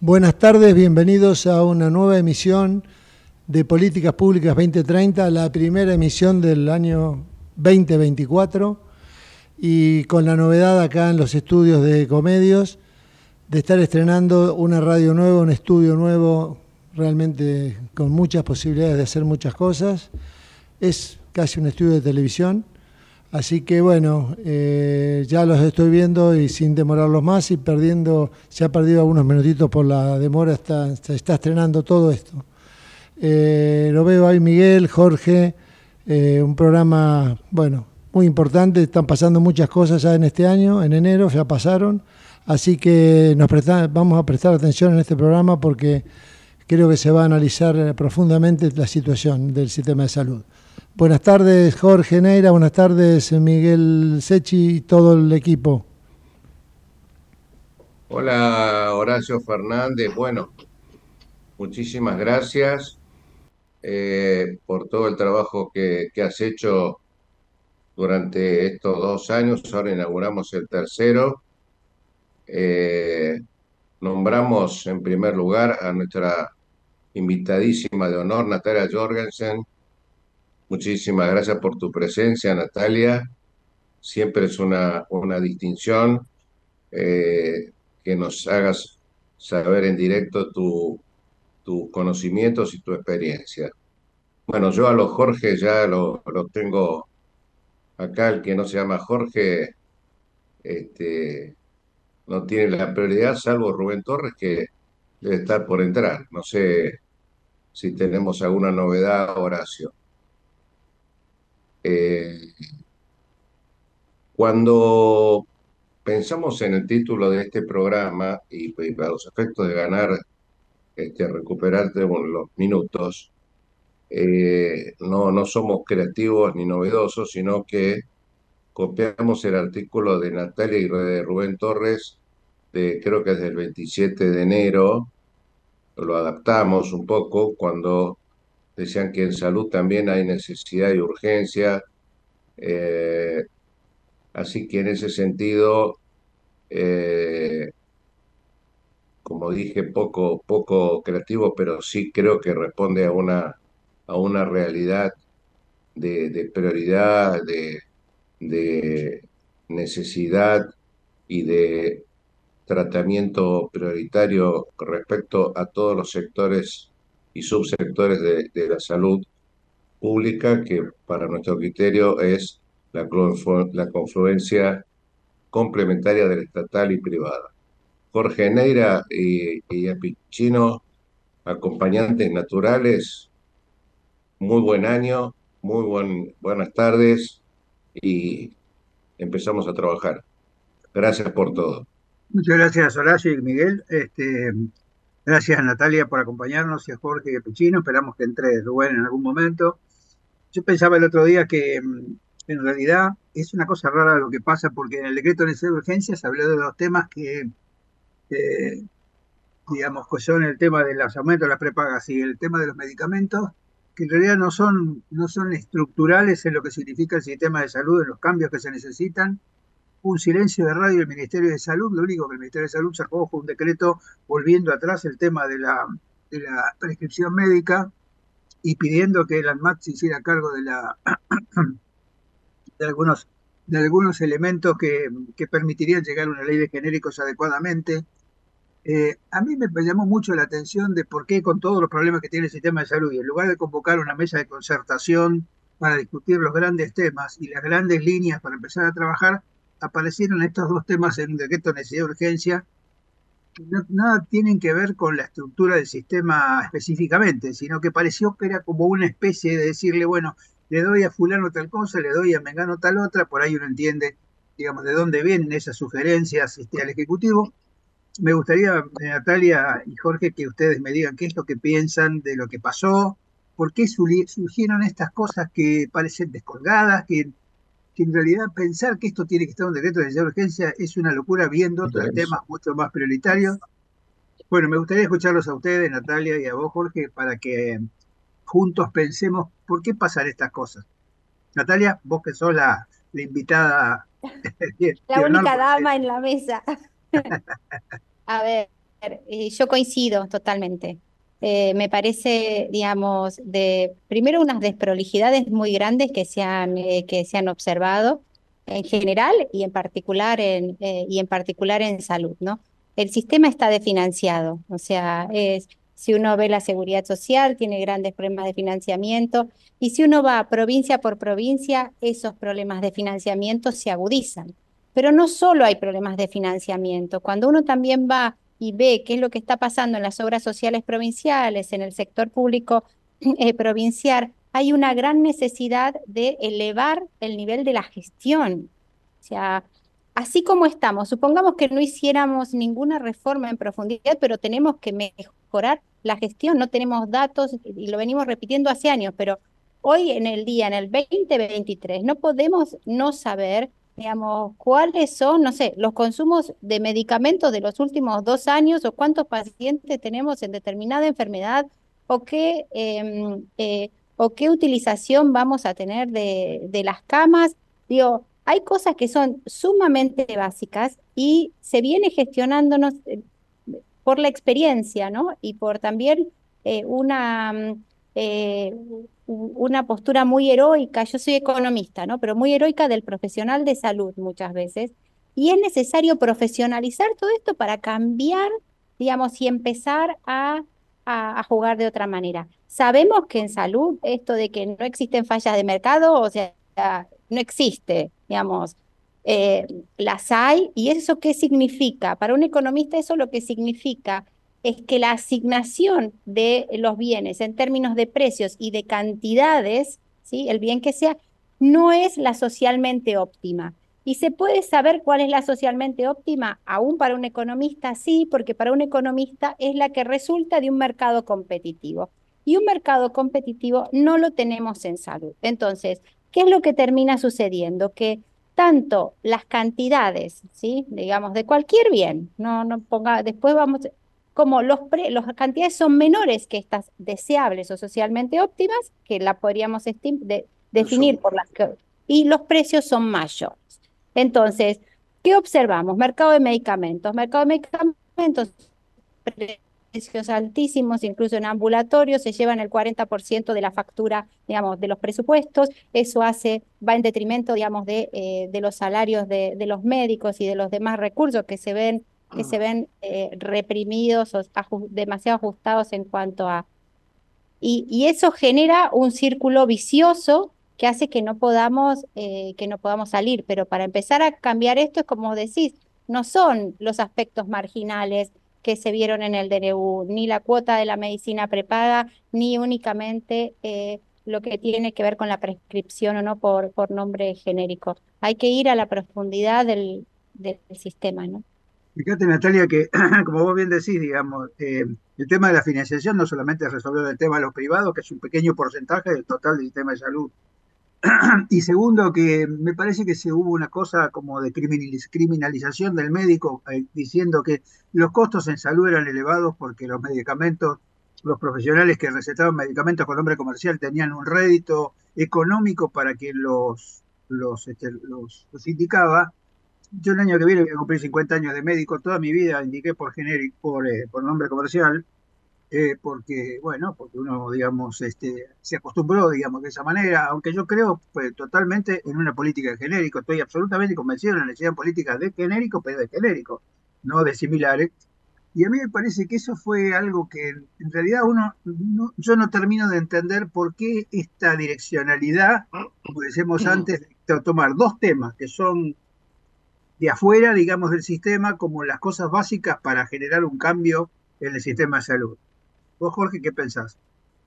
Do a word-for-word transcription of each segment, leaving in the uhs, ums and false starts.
Buenas tardes, bienvenidos a una nueva emisión de Políticas Públicas veinte treinta, la primera emisión del año veinte veinticuatro, y con la novedad acá en los estudios de Ecomedios de estar estrenando una radio nueva, un estudio nuevo, realmente con muchas posibilidades de hacer muchas cosas. Es casi un estudio de televisión, así que bueno, eh, ya los estoy viendo y sin demorarlos más y perdiendo, se ha perdido algunos minutitos por la demora, está, se está estrenando todo esto. Eh, lo veo ahí Miguel, Jorge, eh, un programa, bueno, muy importante, están pasando muchas cosas ya en este año, en enero ya pasaron, así que nos presta, vamos a prestar atención en este programa porque creo que se va a analizar profundamente la situación del sistema de salud. Buenas tardes, Jorge Neira, buenas tardes, Miguel Sechi y todo el equipo. Hola, Horacio Fernández. Bueno, muchísimas gracias eh, por todo el trabajo que, que has hecho durante estos dos años. Ahora inauguramos el tercero. Eh, Nombramos en primer lugar a nuestra invitadísima de honor, Natalia Jorgensen. Muchísimas gracias por tu presencia, Natalia. Siempre es una, una distinción eh, que nos hagas saber en directo tu, tus conocimientos y tu experiencia. Bueno, yo a los Jorge ya los lo tengo acá, el que no se llama Jorge, este, no tiene la prioridad, salvo Rubén Torres, que debe estar por entrar. No sé si tenemos alguna novedad, Horacio. Eh, Cuando pensamos en el título de este programa y, y para los efectos de ganar, este, recuperarte los minutos, eh, no, no somos creativos ni novedosos, sino que copiamos el artículo de Natalia y de Rubén Torres, de, creo que es del veintisiete de enero, lo adaptamos un poco cuando decían que en salud también hay necesidad y urgencia, eh, así que en ese sentido, eh, como dije, poco, poco creativo, pero sí creo que responde a una, a una realidad de, de prioridad, de, de necesidad y de tratamiento prioritario respecto a todos los sectores y subsectores de, de la salud pública, que para nuestro criterio es la, conflu- la confluencia complementaria del estatal y privada. Jorge Neira y, y Apicino, acompañantes naturales, muy buen año, muy buen, buenas tardes y empezamos a trabajar. Gracias por todo. Muchas gracias, Horacio y Miguel. Este, gracias, Natalia, por acompañarnos y a Jorge y a Pichino. Esperamos que entre Rubén en algún momento. Yo pensaba el otro día que mm, en realidad es una cosa rara lo que pasa, porque en el decreto de necesidad de urgencia se habló de dos temas que, eh, digamos, que son el tema de los aumentos de las prepagas y el tema de los medicamentos, que en realidad no son, no son estructurales en lo que significa el sistema de salud, en los cambios que se necesitan. Un silencio de radio del Ministerio de Salud. Lo único que el Ministerio de Salud sacó fue un decreto volviendo atrás el tema de la, de la prescripción médica y pidiendo que el ANMAT se hiciera cargo de, la, de, algunos, de algunos elementos que, que permitirían llegar a una ley de genéricos adecuadamente. Eh, a mí me llamó mucho la atención de por qué, con todos los problemas que tiene el sistema de salud, y en lugar de convocar una mesa de concertación para discutir los grandes temas y las grandes líneas para empezar a trabajar, aparecieron estos dos temas en un decreto de necesidad de urgencia que no, nada tienen que ver con la estructura del sistema específicamente, sino que pareció que era como una especie de decirle, bueno, le doy a fulano tal cosa, le doy a mengano tal otra, por ahí uno entiende, digamos, de dónde vienen esas sugerencias este, al Ejecutivo. Me gustaría, eh, Natalia y Jorge, que ustedes me digan qué es lo que piensan de lo que pasó, por qué surgieron estas cosas que parecen descolgadas, que, que en realidad pensar que esto tiene que estar en un decreto de necesidad de urgencia es una locura viendo otros temas mucho más prioritarios. Bueno, me gustaría escucharlos a ustedes, Natalia, y a vos, Jorge, para que juntos pensemos por qué pasan estas cosas. Natalia, vos que sos la, la invitada de La honor única por dama en la mesa. A ver. eh, yo coincido totalmente. Eh, me parece, digamos, de primero unas desprolijidades muy grandes que se han, eh, que se han observado en general y en particular en, eh, y en particular en salud, ¿no? El sistema está desfinanciado, o sea, es, si uno ve la seguridad social, tiene grandes problemas de financiamiento, y si uno va provincia por provincia, esos problemas de financiamiento se agudizan. Pero no solo hay problemas de financiamiento, cuando uno también va y ve qué es lo que está pasando en las obras sociales provinciales, en el sector público eh, provincial, hay una gran necesidad de elevar el nivel de la gestión. O sea, así como estamos, supongamos que no hiciéramos ninguna reforma en profundidad, pero tenemos que mejorar la gestión, no tenemos datos y lo venimos repitiendo hace años, pero hoy en el día, en el veinte veintitrés, no podemos no saber, digamos, cuáles son, no sé, los consumos de medicamentos de los últimos dos años o cuántos pacientes tenemos en determinada enfermedad o qué, eh, eh, o qué utilización vamos a tener de, de las camas. Digo, hay cosas que son sumamente básicas y se viene gestionándonos eh, por la experiencia, ¿no? Y por también eh, una, mm, eh, u- una postura muy heroica, yo soy economista, ¿no? Pero muy heroica del profesional de salud muchas veces. Y es necesario profesionalizar todo esto para cambiar, digamos, y empezar a, a, a jugar de otra manera. Sabemos que en salud esto de que no existen fallas de mercado, o sea, no existe, digamos. Eh, las hay, y eso qué significa. Para un economista eso lo que significa es que la asignación de los bienes en términos de precios y de cantidades, ¿sí? El bien que sea, no es la socialmente óptima. ¿Y se puede saber cuál es la socialmente óptima? Aún para un economista sí, porque para un economista es la que resulta de un mercado competitivo. Y un mercado competitivo no lo tenemos en salud. Entonces, ¿qué es lo que termina sucediendo? Que tanto las cantidades, ¿sí? Digamos, de cualquier bien, no, no ponga, después vamos, como los pre, las cantidades son menores que estas deseables o socialmente óptimas, que la podríamos estim- de- definir Consumo. por las que, y los precios son mayores. Entonces, ¿qué observamos? Mercado de medicamentos. Mercado de medicamentos, precios altísimos, incluso en ambulatorios, se llevan el cuarenta por ciento de la factura, digamos, de los presupuestos. Eso hace, va en detrimento, digamos, de, eh, de los salarios de, de los médicos y de los demás recursos que se ven, que se ven eh, reprimidos o aju- demasiado ajustados en cuanto a... Y, y eso genera un círculo vicioso que hace que no podamos, eh, que no podamos salir. Pero para empezar a cambiar esto es como decís, no son los aspectos marginales que se vieron en el D N U, ni la cuota de la medicina prepaga, ni únicamente eh, lo que tiene que ver con la prescripción o no por, por nombre genérico. Hay que ir a la profundidad del, del sistema, ¿no? Fíjate, Natalia, que como vos bien decís, digamos, eh, el tema de la financiación no solamente es resolver el tema de los privados, que es un pequeño porcentaje del total del sistema de salud. Y segundo, que me parece que se hubo una cosa como de criminaliz- criminalización del médico, eh, diciendo que los costos en salud eran elevados porque los medicamentos, los profesionales que recetaban medicamentos con nombre comercial tenían un rédito económico para quien los, los, este, los, los indicaba. Yo el año que viene voy a cumplir cincuenta años de médico, toda mi vida indiqué por genérico, por, eh, por nombre comercial, eh, porque, bueno, porque uno, digamos, este, se acostumbró, digamos, de esa manera, aunque yo creo pues, totalmente en una política de genérico, estoy absolutamente convencido de la necesidad de políticas de genérico, pero de genérico, no de similares. Y a mí me parece que eso fue algo que en realidad uno, no- yo no termino de entender por qué esta direccionalidad, como decíamos antes, de tomar dos temas que son de afuera, digamos, del sistema, como las cosas básicas para generar un cambio en el sistema de salud. ¿Vos, Jorge, qué pensás?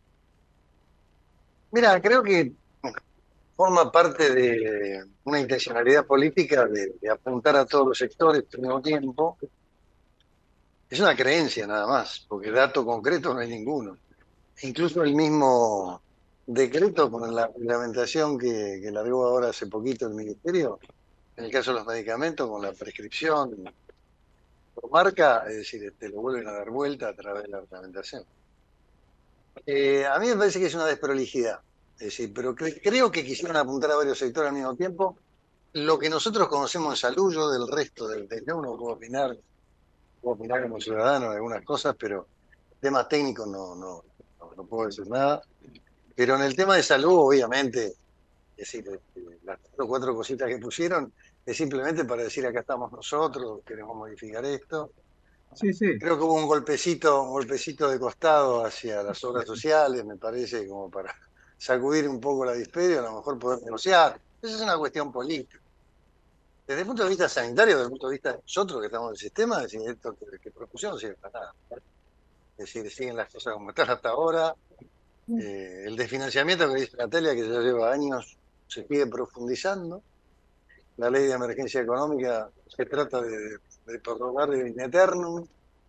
Mira, creo que forma parte de una intencionalidad política de, de apuntar a todos los sectores al mismo tiempo. Es una creencia nada más, porque dato concreto no hay ninguno. Incluso el mismo decreto con la reglamentación que, que largó ahora hace poquito el Ministerio, en el caso de los medicamentos, con la prescripción por marca, es decir, te lo vuelven a dar vuelta a través de la reglamentación. Eh, a mí me parece que es una desprolijidad, es decir, pero cre- creo que quisieron apuntar a varios sectores al mismo tiempo. Lo que nosotros conocemos en salud, yo del resto del, del uno puedo opinar puedo opinar como ciudadano de algunas cosas, pero temas técnicos no, no, no, no puedo decir nada. Pero en el tema de salud, obviamente, es decir, este, las cuatro, cuatro cositas que pusieron es simplemente para decir acá estamos nosotros, queremos modificar esto. Sí, sí. Creo que hubo un golpecito, un golpecito de costado hacia las obras sociales, me parece, como para sacudir un poco la dispedia, a lo mejor poder negociar. Esa es una cuestión política. Desde el punto de vista sanitario, desde el punto de vista de nosotros que estamos en el sistema, es decir, esto que, que propusieron no sirve para nada. Es decir, siguen las cosas como están hasta ahora. Eh, el desfinanciamiento que dice Natalia, que ya lleva años, se sigue profundizando. La ley de emergencia económica se trata de, de prorrogar el in eternum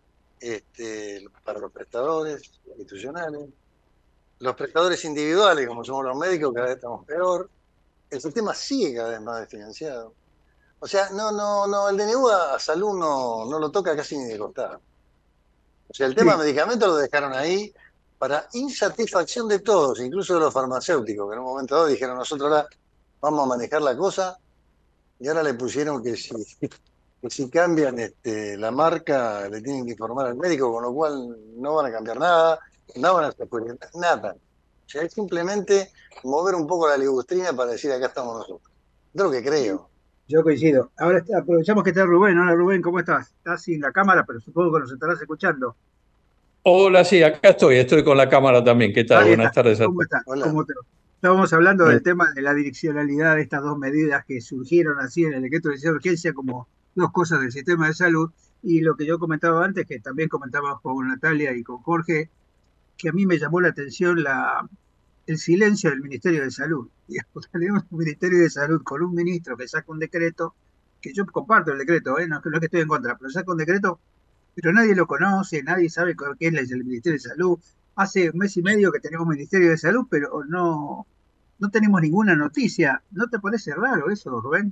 este, para los prestadores institucionales. Los prestadores individuales, como somos los médicos, cada vez estamos peor. El sistema sigue cada vez más desfinanciado. O sea, no, no, no, el D N U a, a salud no, no lo toca casi ni de costado. O sea, el tema Sí, de medicamentos lo dejaron ahí para insatisfacción de todos, incluso de los farmacéuticos, que en un momento dado dijeron, nosotros ahora vamos a manejar la cosa, y ahora le pusieron que si, que si cambian este, la marca, le tienen que informar al médico, con lo cual no van a cambiar nada, no van a hacer nada. O sea, es simplemente mover un poco la ligustrina para decir acá estamos nosotros. Es lo que creo. yo coincido. Ahora está- aprovechamos que está Rubén. Hola Rubén, ¿cómo estás? Estás sin la cámara, pero supongo que nos estarás escuchando. Hola, sí, acá estoy, estoy con la cámara también. ¿Qué tal? Ahí Buenas está. tardes a ¿Cómo todos. estás? Hola. ¿Cómo te... Estábamos hablando Muy- del tema de la direccionalidad de estas dos medidas que surgieron así en el decreto de urgencia como dos cosas del sistema de salud. Y lo que yo comentaba antes, que también comentábamos con Natalia y con Jorge, que a mí me llamó la atención la, el silencio del Ministerio de Salud. Digamos, tenemos un Ministerio de Salud con un ministro que saca un decreto, que yo comparto el decreto, ¿eh? no, es que- no es que estoy en contra, pero saca un decreto, pero nadie lo conoce, nadie sabe qué es el Ministerio de Salud. Hace un mes y medio que tenemos Ministerio de Salud, pero no, no tenemos ninguna noticia. ¿No te parece raro eso, Rubén?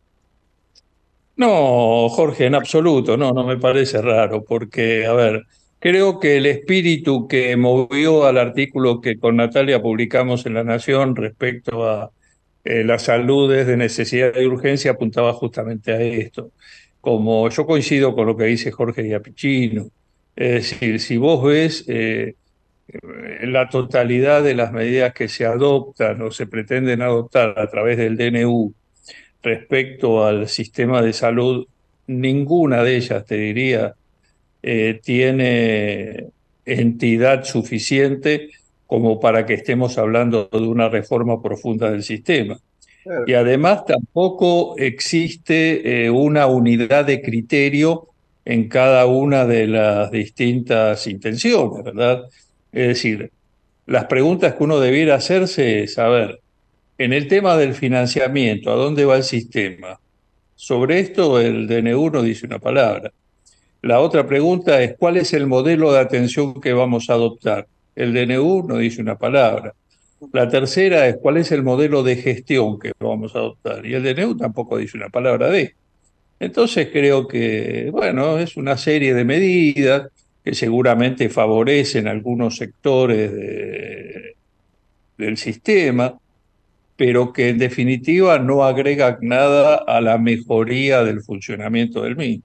No, Jorge, en absoluto, no, no me parece raro, porque, a ver, creo que el espíritu que movió al artículo que con Natalia publicamos en La Nación respecto a eh, las saludes de necesidad y urgencia apuntaba justamente a esto. Como yo coincido con lo que dice Jorge Giappichino, es decir, si vos ves eh, la totalidad de las medidas que se adoptan o se pretenden adoptar a través del D N U respecto al sistema de salud, ninguna de ellas, te diría, eh, tiene entidad suficiente como para que estemos hablando de una reforma profunda del sistema. Claro. Y además tampoco existe eh, una unidad de criterio en cada una de las distintas intenciones, ¿verdad? Es decir, las preguntas que uno debiera hacerse es, a ver, en el tema del financiamiento, ¿a dónde va el sistema? Sobre esto el D N U no dice una palabra. La otra pregunta es, ¿cuál es el modelo de atención que vamos a adoptar? El D N U no dice una palabra. La tercera es, ¿cuál es el modelo de gestión que vamos a adoptar? Y el D N U tampoco dice una palabra de esto. Entonces creo que, bueno, es una serie de medidas que seguramente favorecen algunos sectores de- del sistema, pero que en definitiva no agrega nada a la mejoría del funcionamiento del mismo.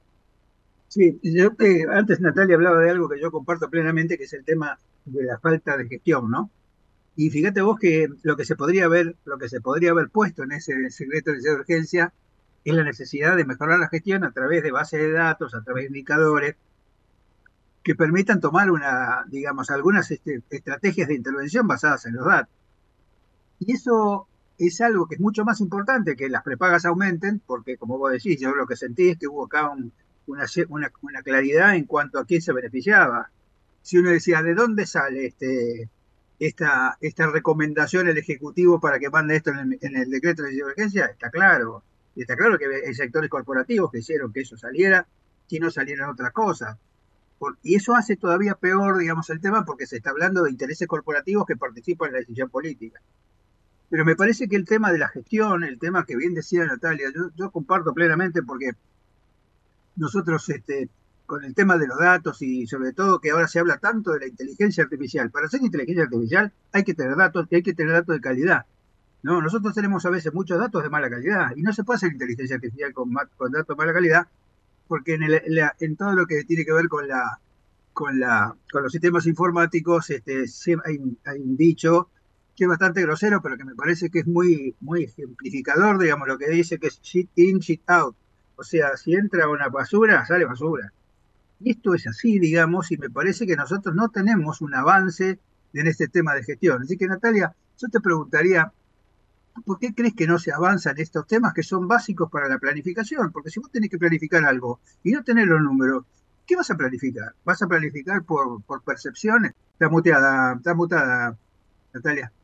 Sí, yo, eh, antes Natalia hablaba de algo que yo comparto plenamente, que es el tema de la falta de gestión, ¿no? Y fíjate vos que lo que se podría haber, lo que se podría haber puesto en ese secreto de urgencia es la necesidad de mejorar la gestión a través de bases de datos, a través de indicadores que permitan tomar una, digamos, algunas este, estrategias de intervención basadas en los datos. Y eso es algo que es mucho más importante que las prepagas aumenten, porque como vos decís, yo lo que sentí es que hubo acá un, una, una, una, claridad en cuanto a quién se beneficiaba. Si uno decía, ¿de dónde sale este, esta, esta recomendación el Ejecutivo para que mande esto en el, en el decreto de emergencia? Está claro. Y está claro que hay sectores corporativos que hicieron que eso saliera, que no salieran otras cosas. Por, y eso hace todavía peor, digamos, el tema porque se está hablando de intereses corporativos que participan en la decisión política. Pero me parece que el tema de la gestión, el tema que bien decía Natalia, yo, yo comparto plenamente porque nosotros este, con el tema de los datos y sobre todo que ahora se habla tanto de la inteligencia artificial. Para hacer inteligencia artificial hay que tener datos y hay que tener datos de calidad. ¿No? Nosotros tenemos a veces muchos datos de mala calidad y no se puede hacer inteligencia artificial con, con datos de mala calidad porque en, el- en la- en todo lo que tiene que ver con la, con la, con los sistemas informáticos, este, sí hay, un- hay un dicho que es bastante grosero, pero que me parece que es muy, muy ejemplificador, digamos, lo que dice que es shit in, shit out. O sea, si entra una basura, sale basura. Y esto es así, digamos, y me parece que nosotros no tenemos un avance en este tema de gestión. Así que, Natalia, yo te preguntaría, ¿por qué crees que no se avanza en estos temas que son básicos para la planificación? Porque si vos tenés que planificar algo y no tenés los números, ¿qué vas a planificar? ¿Vas a planificar por, por percepciones? Está muteada, está mutada, Natalia.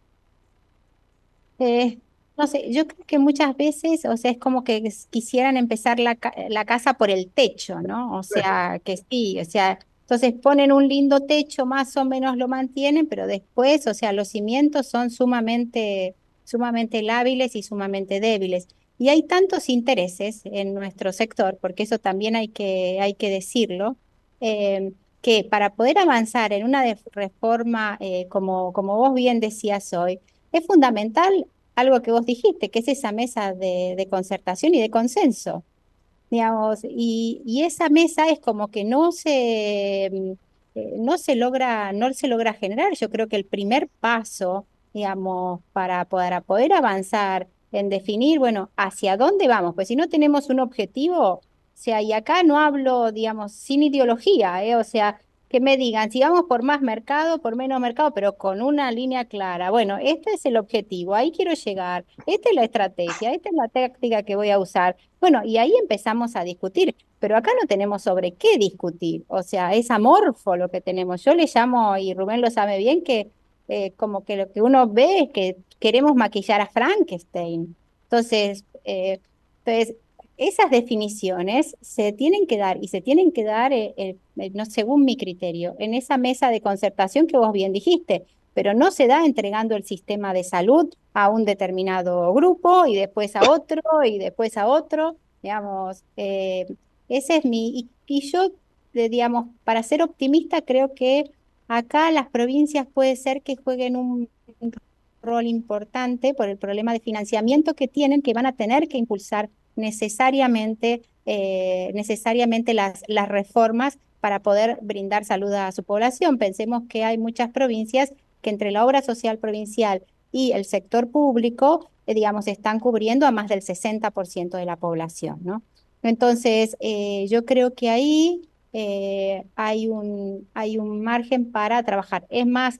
Eh, no sé, yo creo que muchas veces, o sea, es como que s- quisieran empezar la, ca- la casa por el techo, ¿no? O Claro. sea, que sí, o sea, entonces ponen un lindo techo, más o menos lo mantienen, pero después, o sea, los cimientos son sumamente, sumamente lábiles y sumamente débiles. Y hay tantos intereses en nuestro sector, porque eso también hay que, hay que decirlo, eh, que para poder avanzar en una de- reforma, eh, como, como vos bien decías hoy, es fundamental algo que vos dijiste, que es esa mesa de, de concertación y de consenso, digamos, y, y esa mesa es como que no se, mm, eh, no se logra, no se logra generar. Yo creo que el primer paso, digamos, para poder, para poder avanzar en definir, bueno, hacia dónde vamos, pues si no tenemos un objetivo, o sea, y acá no hablo, digamos, sin ideología, ¿eh? O sea, que me digan, si vamos por más mercado, por menos mercado, pero con una línea clara. Bueno, este es el objetivo, ahí quiero llegar, esta es la estrategia, esta es la táctica que voy a usar. Bueno, y ahí empezamos a discutir, pero acá no tenemos sobre qué discutir, o sea, es amorfo lo que tenemos. Yo le llamo, y Rubén lo sabe bien, que eh, como que lo que uno ve es que queremos maquillar a Frankenstein. Entonces, eh, entonces esas definiciones se tienen que dar y se tienen que dar, eh, eh, eh, no según mi criterio, en esa mesa de concertación que vos bien dijiste, pero no se da entregando el sistema de salud a un determinado grupo y después a otro y después a otro, digamos, eh, ese es mi, y, y yo, eh, digamos, para ser optimista, creo que acá las provincias puede ser que jueguen un, un rol importante por el problema de financiamiento que tienen, que van a tener que impulsar necesariamente, eh, necesariamente las, las reformas para poder brindar salud a su población. Pensemos que hay muchas provincias que entre la obra social provincial y el sector público, eh, digamos, están cubriendo a más del sesenta por ciento de la población, ¿no? Entonces, eh, yo creo que ahí eh, hay un, hay un margen para trabajar. Es más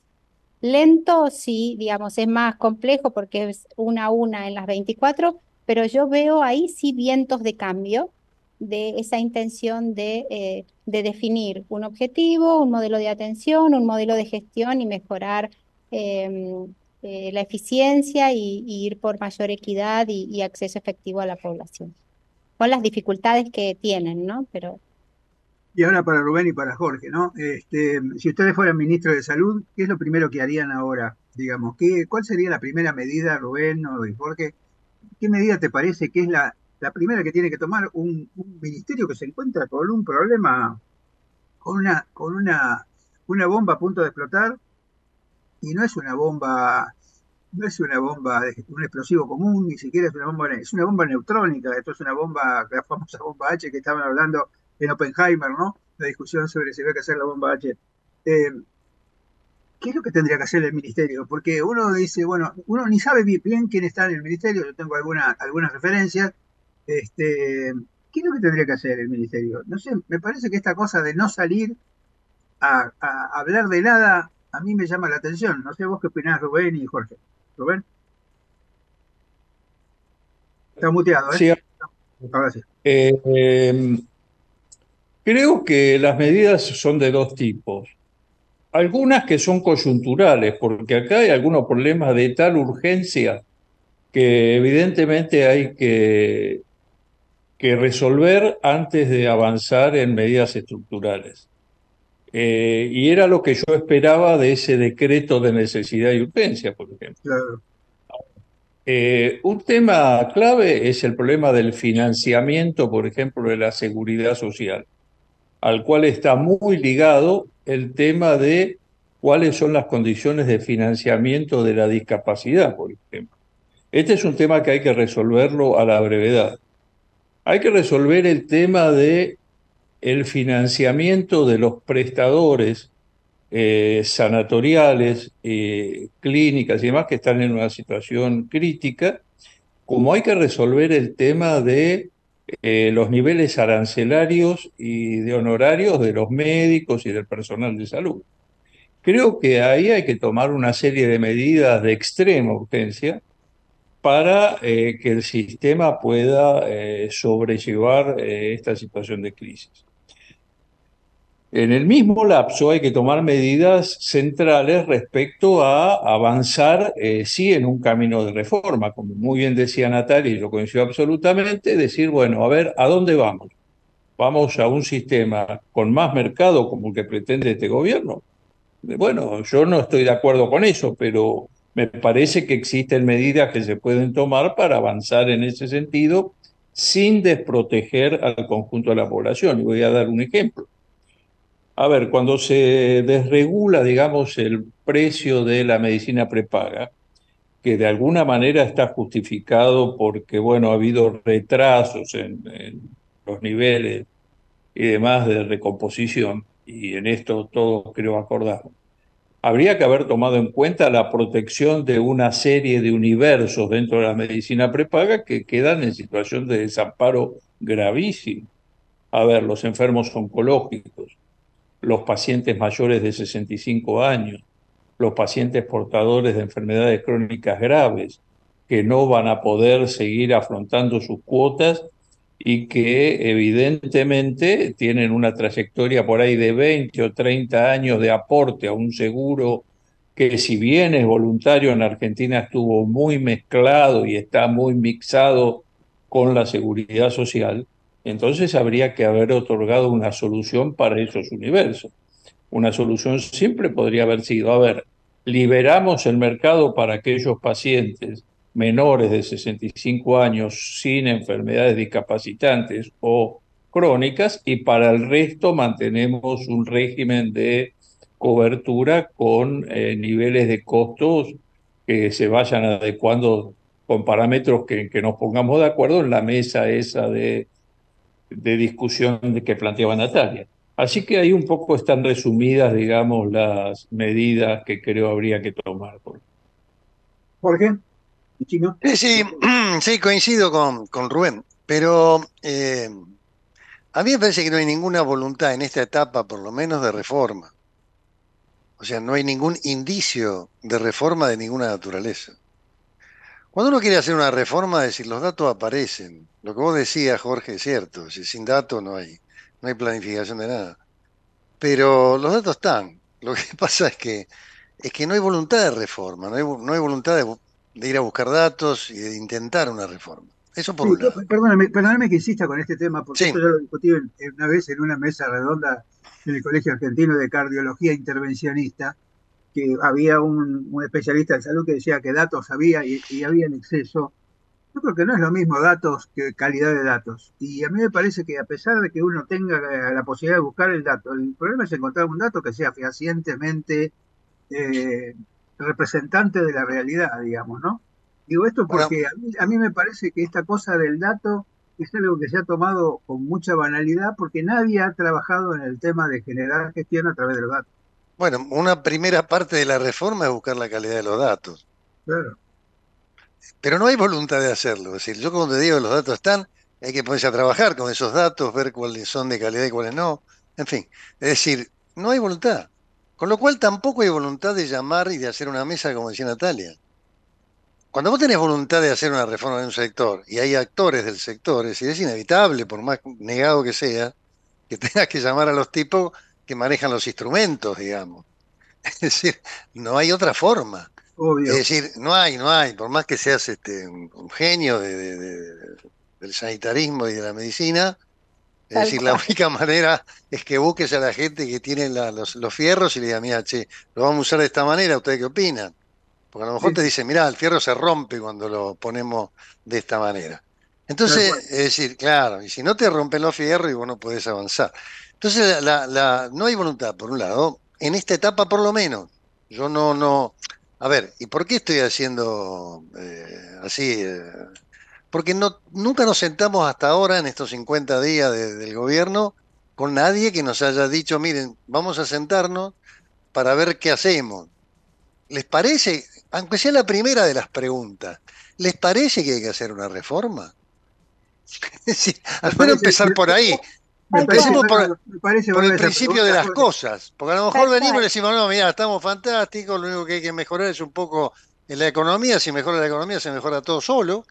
lento, sí, digamos, es más complejo porque es una a una en las veinticuatro, pero yo veo ahí sí vientos de cambio de esa intención de, eh, de definir un objetivo, un modelo de atención, un modelo de gestión y mejorar em, eh, la eficiencia y, y ir por mayor equidad y, y acceso efectivo a la población, con las dificultades que tienen, ¿no? Pero Y ahora para Rubén y para Jorge, ¿no? Este, si ustedes fueran ministros de Salud, ¿qué es lo primero que harían ahora? Digamos, ¿qué, cuál sería la primera medida, Rubén o y Jorge? ¿Qué medida te parece que es la, la primera que tiene que tomar un, un ministerio que se encuentra con un problema, con una, con una, una bomba a punto de explotar? Y no es una bomba, no es una bomba, de, un explosivo común, ni siquiera es una bomba, es una bomba neutrónica. Esto es una bomba, la famosa bomba H que estaban hablando en Oppenheimer, ¿no? La discusión sobre si había que hacer la bomba H. Eh, ¿Qué es lo que tendría que hacer el ministerio? Porque uno dice, bueno, uno ni sabe bien quién está en el ministerio, yo tengo alguna, algunas referencias. Este, ¿qué es lo que tendría que hacer el ministerio? No sé, me parece que esta cosa de no salir a, a hablar de nada a mí me llama la atención. No sé vos qué opinás, Rubén y Jorge. Rubén, está muteado, ¿eh? Sí, Ahora sí. eh, eh, creo que las medidas son de dos tipos. Algunas que son coyunturales, porque acá hay algunos problemas de tal urgencia que evidentemente hay que, que resolver antes de avanzar en medidas estructurales. Eh, y era lo que yo esperaba de ese decreto de necesidad y urgencia, por ejemplo. Claro. Eh, un tema clave es el problema del financiamiento, por ejemplo, de la seguridad social, al cual está muy ligado el tema de cuáles son las condiciones de financiamiento de la discapacidad, por ejemplo. Este es un tema que hay que resolverlo a la brevedad. Hay que resolver el tema de el financiamiento de los prestadores eh, sanatoriales, eh, clínicas y demás que están en una situación crítica, como hay que resolver el tema de eh, los niveles arancelarios y de honorarios de los médicos y del personal de salud. Creo que ahí hay que tomar una serie de medidas de extrema urgencia para eh, que el sistema pueda eh, sobrellevar eh, esta situación de crisis. En el mismo lapso hay que tomar medidas centrales respecto a avanzar, eh, sí, en un camino de reforma, como muy bien decía Natalia, y yo coincido absolutamente, decir, bueno, a ver, ¿a dónde vamos? ¿Vamos a un sistema con más mercado como el que pretende este gobierno? Bueno, yo no estoy de acuerdo con eso, pero me parece que existen medidas que se pueden tomar para avanzar en ese sentido sin desproteger al conjunto de la población. Y voy a dar un ejemplo. A ver, cuando se desregula, digamos, el precio de la medicina prepaga, que de alguna manera está justificado porque, bueno, ha habido retrasos en, en los niveles y demás de recomposición, y en esto todos creo acordamos. Habría que haber tomado en cuenta la protección de una serie de universos dentro de la medicina prepaga que quedan en situación de desamparo gravísimo. A ver, los enfermos oncológicos, los pacientes mayores de sesenta y cinco años, los pacientes portadores de enfermedades crónicas graves, que no van a poder seguir afrontando sus cuotas y que evidentemente tienen una trayectoria por ahí de veinte o treinta años de aporte a un seguro que, si bien es voluntario, en Argentina estuvo muy mezclado y está muy mixado con la seguridad social. Entonces habría que haber otorgado una solución para esos universos. Una solución simple podría haber sido, a ver, liberamos el mercado para aquellos pacientes menores de sesenta y cinco años sin enfermedades discapacitantes o crónicas, y para el resto mantenemos un régimen de cobertura con eh, niveles de costos que se vayan adecuando con parámetros que, que nos pongamos de acuerdo en la mesa esa de, de discusión de que planteaba Natalia. Así que ahí un poco están resumidas, digamos, las medidas que creo habría que tomar. Jorge, Chino. Sí, sí, sí, coincido con, con Rubén, pero eh, a mí me parece que no hay ninguna voluntad en esta etapa, por lo menos, de reforma. O sea, no hay ningún indicio de reforma de ninguna naturaleza. Cuando uno quiere hacer una reforma, es decir, los datos aparecen. Lo que vos decías, Jorge, es cierto. Si sin datos no hay, no hay planificación de nada. Pero los datos están. Lo que pasa es que, es que no hay voluntad de reforma, no hay, no hay voluntad de, de ir a buscar datos y de intentar una reforma. Eso por Sí, un yo- lado. perdóname, perdóname que insista con este tema, porque Sí, esto ya lo discutí en- en una vez en una mesa redonda en el Colegio Argentino de Cardiología Intervencionista, que había un, un especialista en salud que decía que datos había y, y había en exceso. Yo creo que no es lo mismo datos que calidad de datos. Y a mí me parece que a pesar de que uno tenga eh, la posibilidad de buscar el dato, el problema es encontrar un dato que sea fehacientemente eh, representante de la realidad, digamos, ¿no? Digo esto bueno, porque a mí, a mí me parece que esta cosa del dato es algo que se ha tomado con mucha banalidad porque nadie ha trabajado en el tema de generar gestión a través de los datos. bueno, una primera parte de la reforma es buscar la calidad de los datos. Claro. Pero no hay voluntad de hacerlo. Es decir, yo cuando te digo que los datos están, hay que ponerse a trabajar con esos datos, ver cuáles son de calidad y cuáles no. En fin, es decir, no hay voluntad. Con lo cual tampoco hay voluntad de llamar y de hacer una mesa, como decía Natalia. Cuando vos tenés voluntad de hacer una reforma en un sector y hay actores del sector, es decir, es inevitable, por más negado que sea, que tengas que llamar a los tipos que manejan los instrumentos, digamos. Es decir, no hay otra forma. Es Obvio. decir, no hay, no hay, por más que seas este, un, un genio de- de- de- del sanitarismo y de la medicina, es Tal decir, la cual. única manera es que busques a la gente que tiene la- los, los fierros y le digas, mira, che, lo vamos a usar de esta manera, ¿ustedes qué opinan? Porque a lo mejor Sí, te sí, dicen, mira, el fierro se rompe cuando lo ponemos de esta manera. tal Entonces, cual. es decir, claro, y si no te rompen los fierros y vos no podés avanzar. Entonces, la, la- no hay voluntad, por un lado, en esta etapa por lo menos. Yo no, no. A ver, ¿y por qué estoy haciendo eh, así? eh? porque no, nunca nos sentamos hasta ahora, en estos cincuenta días de, del gobierno, con nadie que nos haya dicho, miren, vamos a sentarnos para ver qué hacemos. ¿Les parece, aunque sea la primera de las preguntas, ¿les parece que hay que hacer una reforma? Sí, al menos empezar por ahí. Empecemos por, por el principio de las cosas, porque a lo mejor venimos y decimos, no, mira, estamos fantásticos, lo único que hay que mejorar es un poco en la economía, si mejora la economía se mejora todo solo.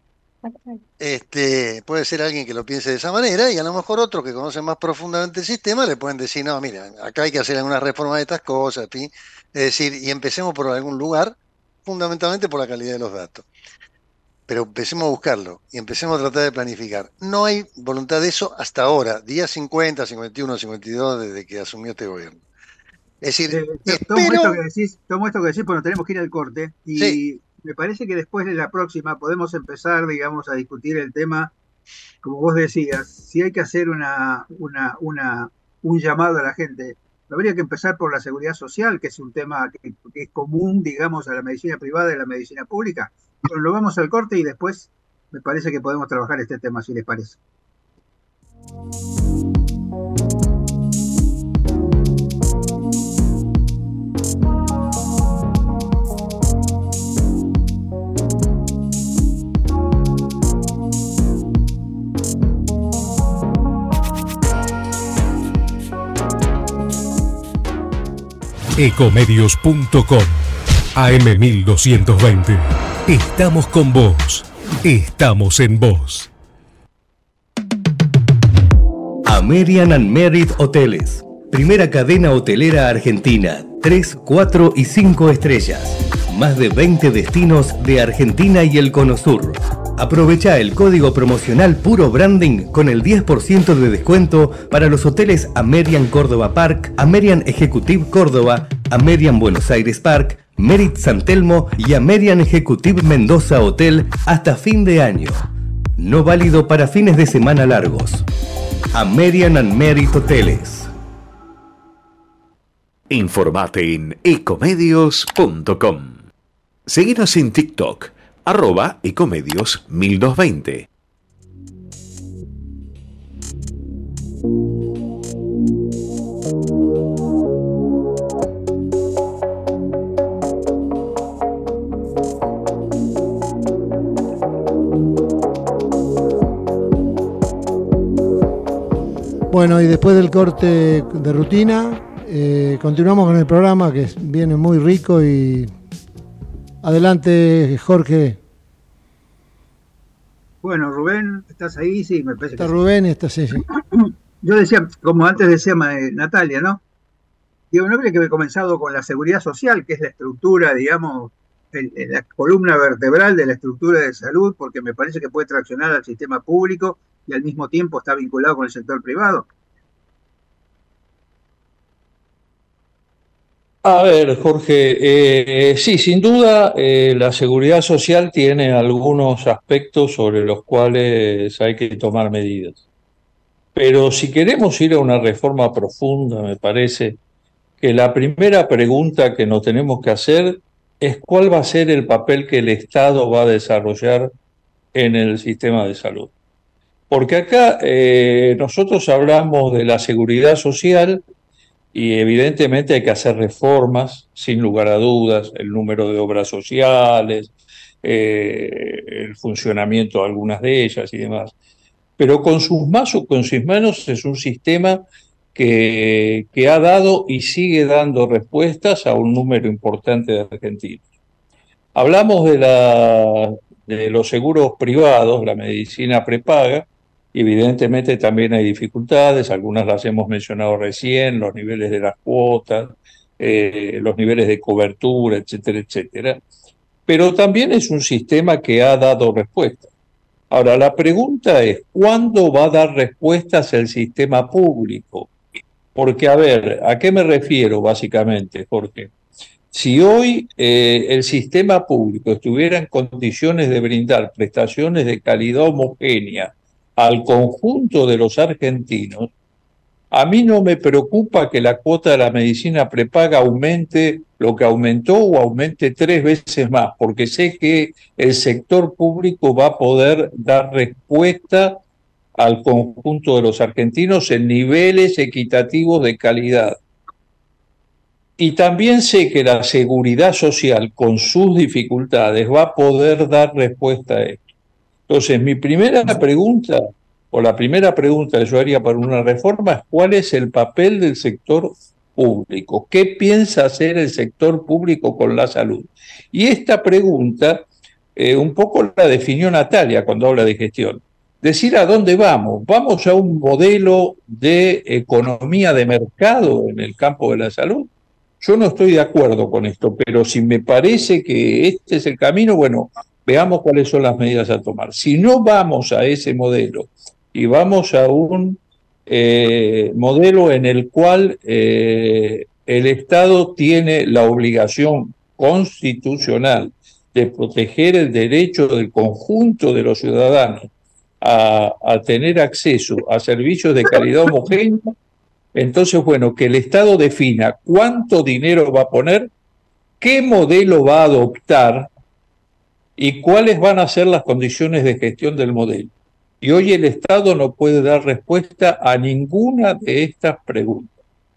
Este, puede ser alguien que lo piense de esa manera, y a lo mejor otros que conocen más profundamente el sistema le pueden decir, no, mira, acá hay que hacer alguna reforma de estas cosas, ¿sí? Es decir, y empecemos por algún lugar, fundamentalmente por la calidad de los datos. Pero empecemos a buscarlo y empecemos a tratar de planificar. No hay voluntad de eso hasta ahora, día cincuenta, cincuenta y uno, cincuenta y dos, desde que asumió este gobierno. Es decir, eh, espero... tomo esto que decís, tomo esto que decís, porque tenemos que ir al corte, y sí. Me parece que después de la próxima podemos empezar, digamos, a discutir el tema, como vos decías, si hay que hacer una, una, una, un llamado a la gente. Habría que empezar por la seguridad social, que es un tema que, que es común, digamos, a la medicina privada y a la medicina pública. Bueno, lo vamos al corte y después me parece que podemos trabajar este tema, si les parece. Ecomedios punto com A M mil doscientos veinte. Estamos con vos. Estamos en vos. American and Merit Hoteles. Primera cadena hotelera argentina. tres, cuatro y cinco estrellas. Más de veinte destinos de Argentina y el Cono Sur. Aprovecha el código promocional Puro Branding con el diez por ciento de descuento para los hoteles American Córdoba Park, American Executive Córdoba, American Buenos Aires Park, Merit San Telmo y American Executive Mendoza Hotel hasta fin de año. No válido para fines de semana largos. American and Merit Hoteles. Informate en ecomedios punto com. Seguinos en TikTok, arroba ecomedios mil doscientos veinte. Bueno, y después del corte de rutina, eh, continuamos con el programa, que viene muy rico. Y adelante, Jorge. Bueno, Rubén, ¿estás ahí? Sí, me parece está que sí. Rubén y está sí, sí. Yo decía, como antes decía Natalia, ¿no? Digo, no habría que haber comenzado con la seguridad social, que es la estructura, digamos, el, el, la columna vertebral de la estructura de salud, porque me parece que puede traccionar al sistema público y al mismo tiempo está vinculado con el sector privado. A ver, Jorge, eh, sí, sin duda eh, la seguridad social tiene algunos aspectos sobre los cuales hay que tomar medidas. Pero si queremos ir a una reforma profunda, me parece que la primera pregunta que nos tenemos que hacer es cuál va a ser el papel que el Estado va a desarrollar en el sistema de salud. Porque acá eh, nosotros hablamos de la seguridad social y evidentemente hay que hacer reformas, sin lugar a dudas, el número de obras sociales, eh, el funcionamiento de algunas de ellas y demás. Pero con sus más o con sus menos es un sistema que, que ha dado y sigue dando respuestas a un número importante de argentinos. Hablamos de, la, de los seguros privados, la medicina prepaga, y evidentemente también hay dificultades, algunas las hemos mencionado recién, los niveles de las cuotas, eh, los niveles de cobertura, etcétera, etcétera. Pero también es un sistema que ha dado respuestas. Ahora, la pregunta es, ¿cuándo va a dar respuestas el sistema público? Porque, a ver, ¿a qué me refiero básicamente, Jorge? Si hoy eh, el sistema público estuviera en condiciones de brindar prestaciones de calidad homogénea al conjunto de los argentinos, A mí no me preocupa que la cuota de la medicina prepaga aumente lo que aumentó o aumente tres veces más, porque sé que el sector público va a poder dar respuesta al conjunto de los argentinos en niveles equitativos de calidad. Y también sé que la seguridad social, con sus dificultades, va a poder dar respuesta a esto. Entonces, mi primera pregunta, o la primera pregunta que yo haría para una reforma, es ¿cuál es el papel del sector público? ¿Qué piensa hacer el sector público con la salud? Y esta pregunta, eh, un poco la definió Natalia cuando habla de gestión. Decir a dónde vamos. ¿Vamos a un modelo de economía de mercado en el campo de la salud? Yo no estoy de acuerdo con esto, pero si me parece que este es el camino, bueno, veamos cuáles son las medidas a tomar. Si no vamos a ese modelo y vamos a un eh, modelo en el cual eh, el Estado tiene la obligación constitucional de proteger el derecho del conjunto de los ciudadanos a, a tener acceso a servicios de calidad homogénea, entonces, bueno, que el Estado defina cuánto dinero va a poner, qué modelo va a adoptar y cuáles van a ser las condiciones de gestión del modelo. Y hoy el Estado no puede dar respuesta a ninguna de estas preguntas.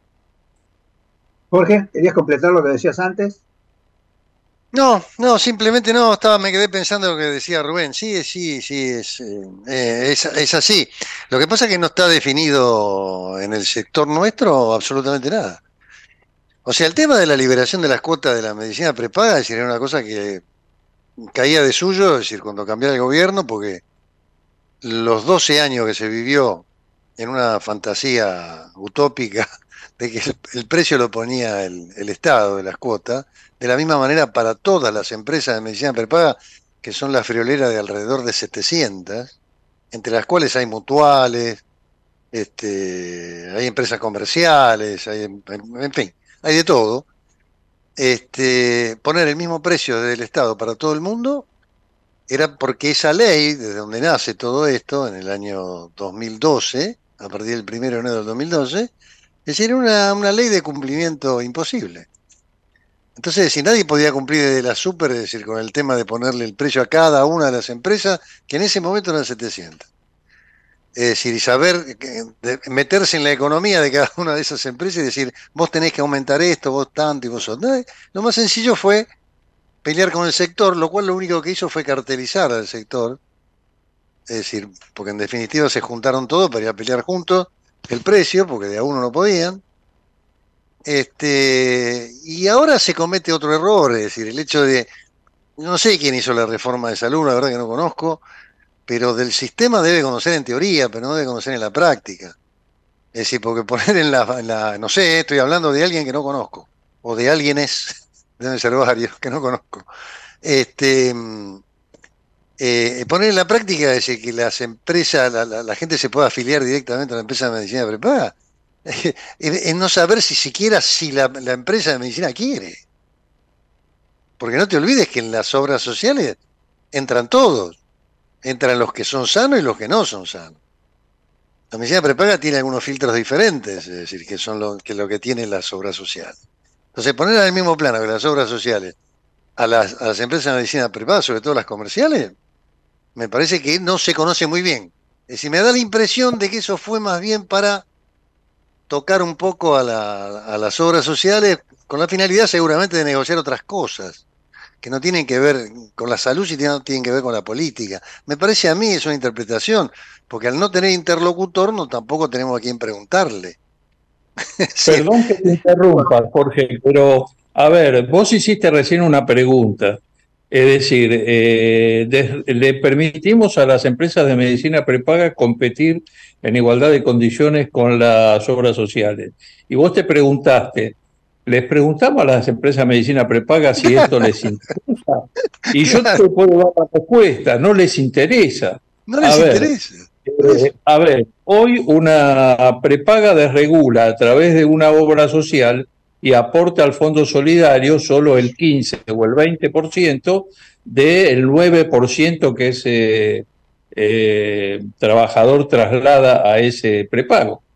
Jorge, ¿querías completar lo que decías antes? No, no, simplemente no, estaba, me quedé pensando lo que decía Rubén. Sí, sí, sí, es, eh, es, es así. Lo que pasa es que no está definido en el sector nuestro absolutamente nada. O sea, el tema de la liberación de las cuotas de la medicina prepaga, es decir, era una cosa que caía de suyo, es decir, cuando cambiara el gobierno, porque los doce años que se vivió en una fantasía utópica de que el, el precio lo ponía el, el Estado de las cuotas, de la misma manera para todas las empresas de medicina prepaga, que son la friolera de alrededor de setecientas, entre las cuales hay mutuales, este, hay empresas comerciales, hay, en fin, hay de todo. Este, poner el mismo precio del Estado para todo el mundo era porque esa ley, desde donde nace todo esto, en el año dos mil doce, a partir del primero de enero del dos mil doce, es decir, era una, una ley de cumplimiento imposible. Entonces, si nadie podía cumplir desde la super, es decir, con el tema de ponerle el precio a cada una de las empresas, que en ese momento eran setecientas. Es decir, y saber, de, meterse en la economía de cada una de esas empresas y decir, vos tenés que aumentar esto, vos tanto y vos otro. Lo más sencillo fue pelear con el sector, lo cual lo único que hizo fue cartelizar al sector. Es decir, porque en definitiva se juntaron todos para ir a pelear juntos el precio, porque de a uno no podían. Este, y ahora se comete otro error, es decir, el hecho de, no sé quién hizo la reforma de salud, la verdad que no conozco, pero del sistema debe conocer en teoría, pero no debe conocer en la práctica. Es decir, porque poner en la, en la no sé, estoy hablando de alguien que no conozco, o de alguienes, deben ser varios que no conozco. Este, eh, poner en la práctica es decir, que las empresas, la, la, la gente se pueda afiliar directamente a la empresa de medicina prepaga. Es no saber si siquiera si la, la empresa de medicina quiere. Porque no te olvides que en las obras sociales entran todos. Entran los que son sanos y los que no son sanos. La medicina prepaga tiene algunos filtros diferentes, es decir, que son lo que, lo que tienen las obras sociales. Entonces, poner al mismo plano que las obras sociales a las, a las empresas de medicina prepaga, sobre todo las comerciales, me parece que no se conoce muy bien. Es decir, me da la impresión de que eso fue más bien para tocar un poco a, la, a las obras sociales con la finalidad seguramente de negociar otras cosas que no tienen que ver con la salud, sino tienen que ver con la política. Me parece a mí es una interpretación, porque al no tener interlocutor no tampoco tenemos a quién preguntarle. Sí. Perdón que te interrumpa, Jorge, pero a ver, vos hiciste recién una pregunta. Es decir, eh, de, le permitimos a las empresas de medicina prepaga competir en igualdad de condiciones con las obras sociales. Y vos te preguntaste, les preguntamos a las empresas de medicina prepaga si esto les interesa. Y yo te puedo dar la respuesta, no les interesa. No les a ver, interesa. Eh, a ver, hoy una prepaga desregula a través de una obra social y aporta al Fondo Solidario solo el quince o el veinte por ciento del nueve por ciento que ese eh, trabajador traslada a ese prepago.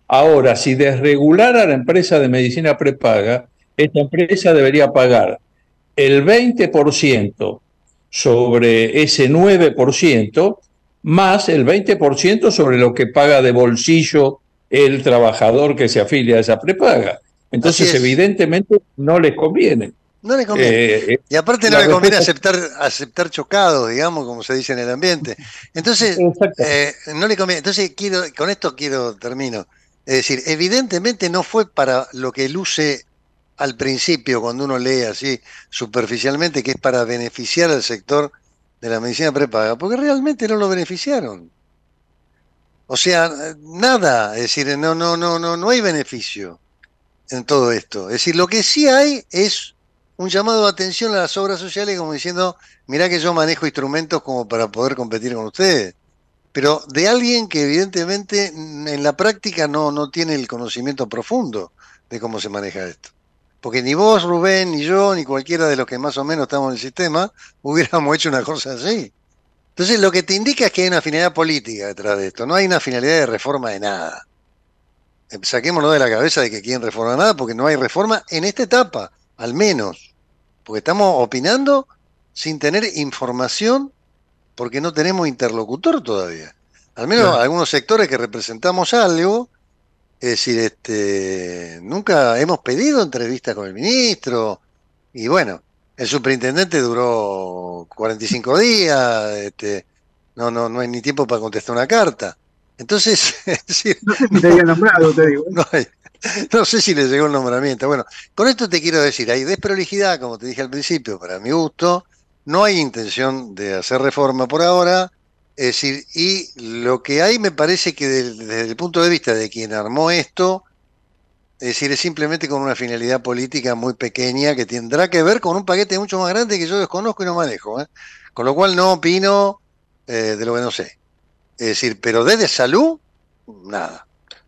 Ahora, si desregulara la empresa de medicina prepaga, esta empresa debería pagar el veinte por ciento sobre ese nueve por ciento más el veinte por ciento sobre lo que paga de bolsillo el trabajador que se afilia a esa prepaga. Entonces, evidentemente, no les conviene. No le conviene. Eh, y aparte no la le conviene respuesta- aceptar, aceptar chocados, digamos, como se dice en el ambiente. Entonces, eh, no le conviene. Entonces, quiero, con esto quiero, termino. Es decir, evidentemente no fue para lo que luce al principio, cuando uno lee así superficialmente, que es para beneficiar al sector de la medicina prepaga, porque realmente no lo beneficiaron. O sea, nada, es decir, no, no, no, no, no hay beneficio en todo esto. Es decir, lo que sí hay es un llamado de atención a las obras sociales, como diciendo, mirá que yo manejo instrumentos como para poder competir con ustedes. Pero de alguien que evidentemente en la práctica no, no tiene el conocimiento profundo de cómo se maneja esto. Porque ni vos, Rubén, ni yo, ni cualquiera de los que más o menos estamos en el sistema, hubiéramos hecho una cosa así. Entonces lo que te indica es que hay una finalidad política detrás de esto, no hay una finalidad de reforma de nada. Saquémonos de la cabeza de que quieren reformar nada, porque no hay reforma en esta etapa, al menos. Porque estamos opinando sin tener información, porque no tenemos interlocutor todavía. Al menos Claro. algunos sectores que representamos algo, es decir, este, nunca hemos pedido entrevista con el ministro, y bueno, el superintendente duró cuarenta y cinco días, este, no, no, no hay ni tiempo para contestar una carta. Entonces, es decir, No sé si te había nombrado, te digo. no, hay- no sé si le llegó el nombramiento. Bueno, con esto te quiero decir, hay desprolijidad, como te dije al principio, para mi gusto, no hay intención de hacer reforma por ahora, es decir, y lo que hay me parece que del- desde el punto de vista de quien armó esto, es decir, es simplemente con una finalidad política muy pequeña que tendrá que ver con un paquete mucho más grande que yo desconozco y no manejo, ¿eh? Con lo cual no opino eh, de lo que no sé. Es decir, pero desde salud, nada.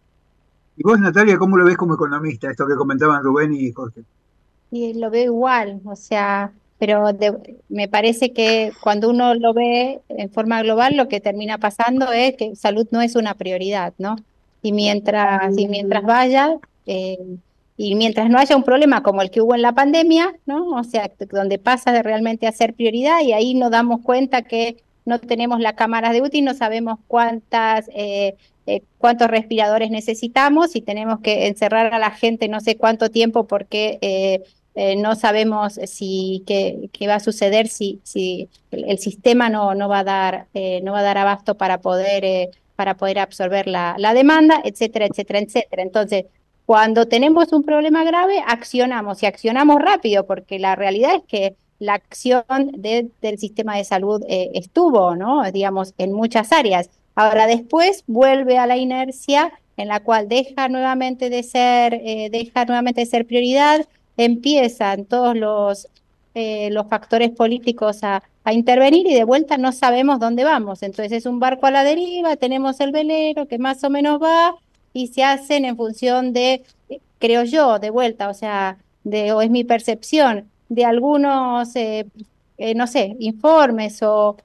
Y vos, Natalia, ¿cómo lo ves como economista, esto que comentaban Rubén y Jorge? Y lo veo igual, o sea, pero de- me parece que cuando uno lo ve en forma global, lo que termina pasando es que salud no es una prioridad, ¿no? Y mientras, y mientras vaya, eh, y mientras no haya un problema como el que hubo en la pandemia, ¿no? O sea, t- donde pasa de realmente a ser prioridad y ahí nos damos cuenta que no tenemos las cámaras de U T I, no sabemos cuántas, eh, eh, cuántos respiradores necesitamos y tenemos que encerrar a la gente no sé cuánto tiempo porque eh, eh, no sabemos si qué, qué va a suceder si, si el, el sistema no, no va a dar, eh, no va a dar abasto para poder, eh, para poder absorber la, la demanda, etcétera, etcétera, etcétera. Entonces, cuando tenemos un problema grave, accionamos y accionamos rápido, porque la realidad es que la acción de, del sistema de salud eh, estuvo, ¿no? Digamos, en muchas áreas. Ahora después vuelve a la inercia en la cual deja nuevamente de ser, eh, deja nuevamente de ser prioridad, empiezan todos los, eh, los factores políticos a, a intervenir y de vuelta no sabemos dónde vamos. Entonces es un barco a la deriva, tenemos el velero que más o menos va y se hacen en función de, eh, creo yo, de vuelta, o sea, de, o es mi percepción, de algunos, eh, eh, no sé, informes o,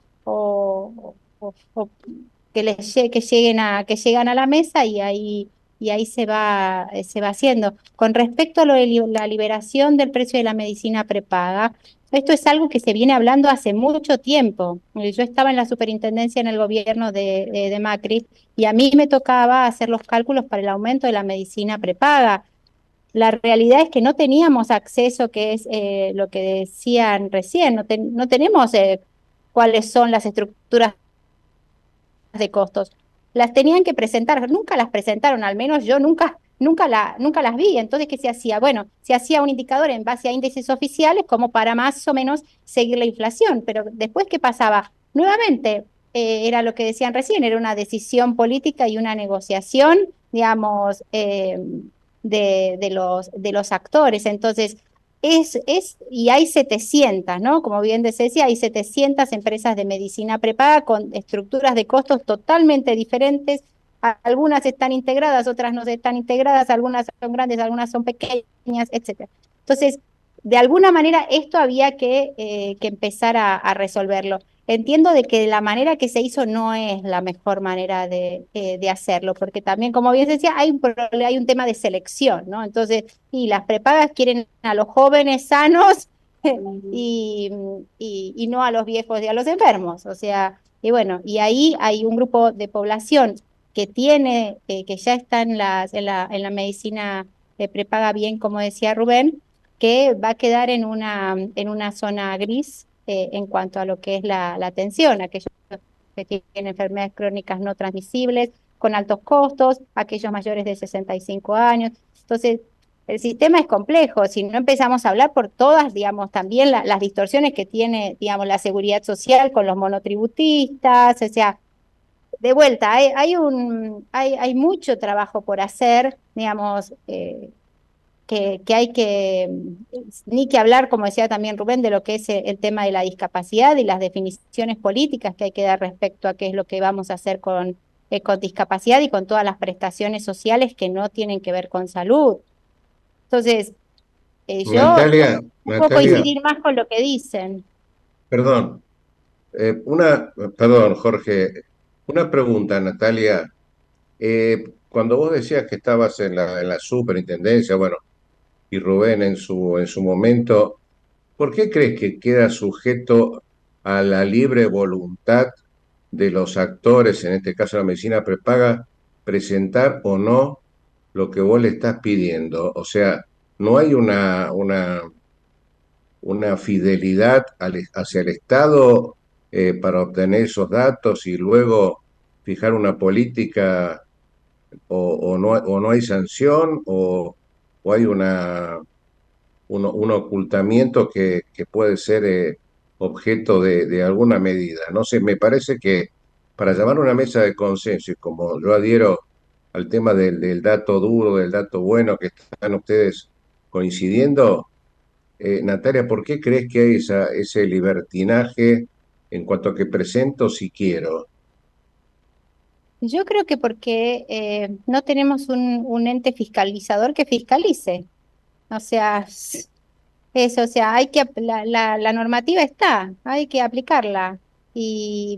o, o- o que les lle- que lleguen a, que llegan a la mesa y ahí y ahí se va, eh, se va haciendo. Con respecto a lo de li- la liberación del precio de la medicina prepaga, esto es algo que se viene hablando hace mucho tiempo. Eh, Yo estaba en la superintendencia en el gobierno de, de, de Macri y a mí me tocaba hacer los cálculos para el aumento de la medicina prepaga. La realidad es que no teníamos acceso, que es eh, lo que decían recién, no, ten- no tenemos eh, cuáles son las estructuras de costos. Las tenían que presentar, nunca las presentaron, al menos yo nunca, nunca, la, nunca las vi. Entonces, ¿qué se hacía? Bueno, se hacía un indicador en base a índices oficiales como para más o menos seguir la inflación, pero después, ¿qué pasaba? Nuevamente, eh, era lo que decían recién, era una decisión política y una negociación, digamos, eh, de, de los, de los actores. Entonces, es, es, y hay setecientas, ¿no? Como bien decía, hay setecientas empresas de medicina prepaga con estructuras de costos totalmente diferentes. A- Algunas están integradas, otras no están integradas, algunas son grandes, algunas son pequeñas, etcétera. Entonces, de alguna manera esto había que, eh, que empezar a, a resolverlo. entiendo de que la manera que se hizo no es la mejor manera de, eh, de hacerlo, porque también, como bien se decía, hay un, hay un tema de selección, ¿no? Entonces, y las prepagas quieren a los jóvenes sanos y, y, y no a los viejos y a los enfermos, o sea, y bueno, y ahí hay un grupo de población que tiene, eh, que ya está en, las, en, la, en la medicina eh, prepaga bien, como decía Rubén, que va a quedar en una, en una zona gris eh, en cuanto a lo que es la, la atención, aquellos que tienen enfermedades crónicas no transmisibles, con altos costos, aquellos mayores de sesenta y cinco años. Entonces, el sistema es complejo, si no empezamos a hablar por todas, digamos, también la, las distorsiones que tiene, digamos, la seguridad social con los monotributistas, o sea, de vuelta, hay, hay, un, hay, hay mucho trabajo por hacer, digamos, eh, que, que hay que, ni que hablar, como decía también Rubén, de lo que es el, el tema de la discapacidad y las definiciones políticas que hay que dar respecto a qué es lo que vamos a hacer con, eh, con discapacidad y con todas las prestaciones sociales que no tienen que ver con salud. Entonces, eh, yo Natalia, no puedo Natalia, coincidir más con lo que dicen. perdón, eh, una, perdón, Jorge, una pregunta, Natalia. Eh, cuando vos decías que estabas en la, en la superintendencia, bueno, y Rubén en su, en su momento, ¿por qué crees que queda sujeto a la libre voluntad de los actores, en este caso la medicina prepaga, presentar o no lo que vos le estás pidiendo? O sea, no hay una, una, una fidelidad al- hacia el Estado eh, para obtener esos datos y luego fijar una política o, o no, o no hay sanción o, o hay una, un, un ocultamiento que, que puede ser eh, objeto de, de alguna medida. No sé, me parece que para llamar a una mesa de consenso, y como yo adhiero al tema del, del dato duro, del dato bueno, que están ustedes coincidiendo, eh, Natalia, ¿por qué crees que hay esa, ese libertinaje en cuanto a que presento si quiero? Yo creo que porque eh, no tenemos un, un ente fiscalizador que fiscalice. O sea, eso, o sea, hay que, ap- la, la, la normativa está, hay que aplicarla. Y,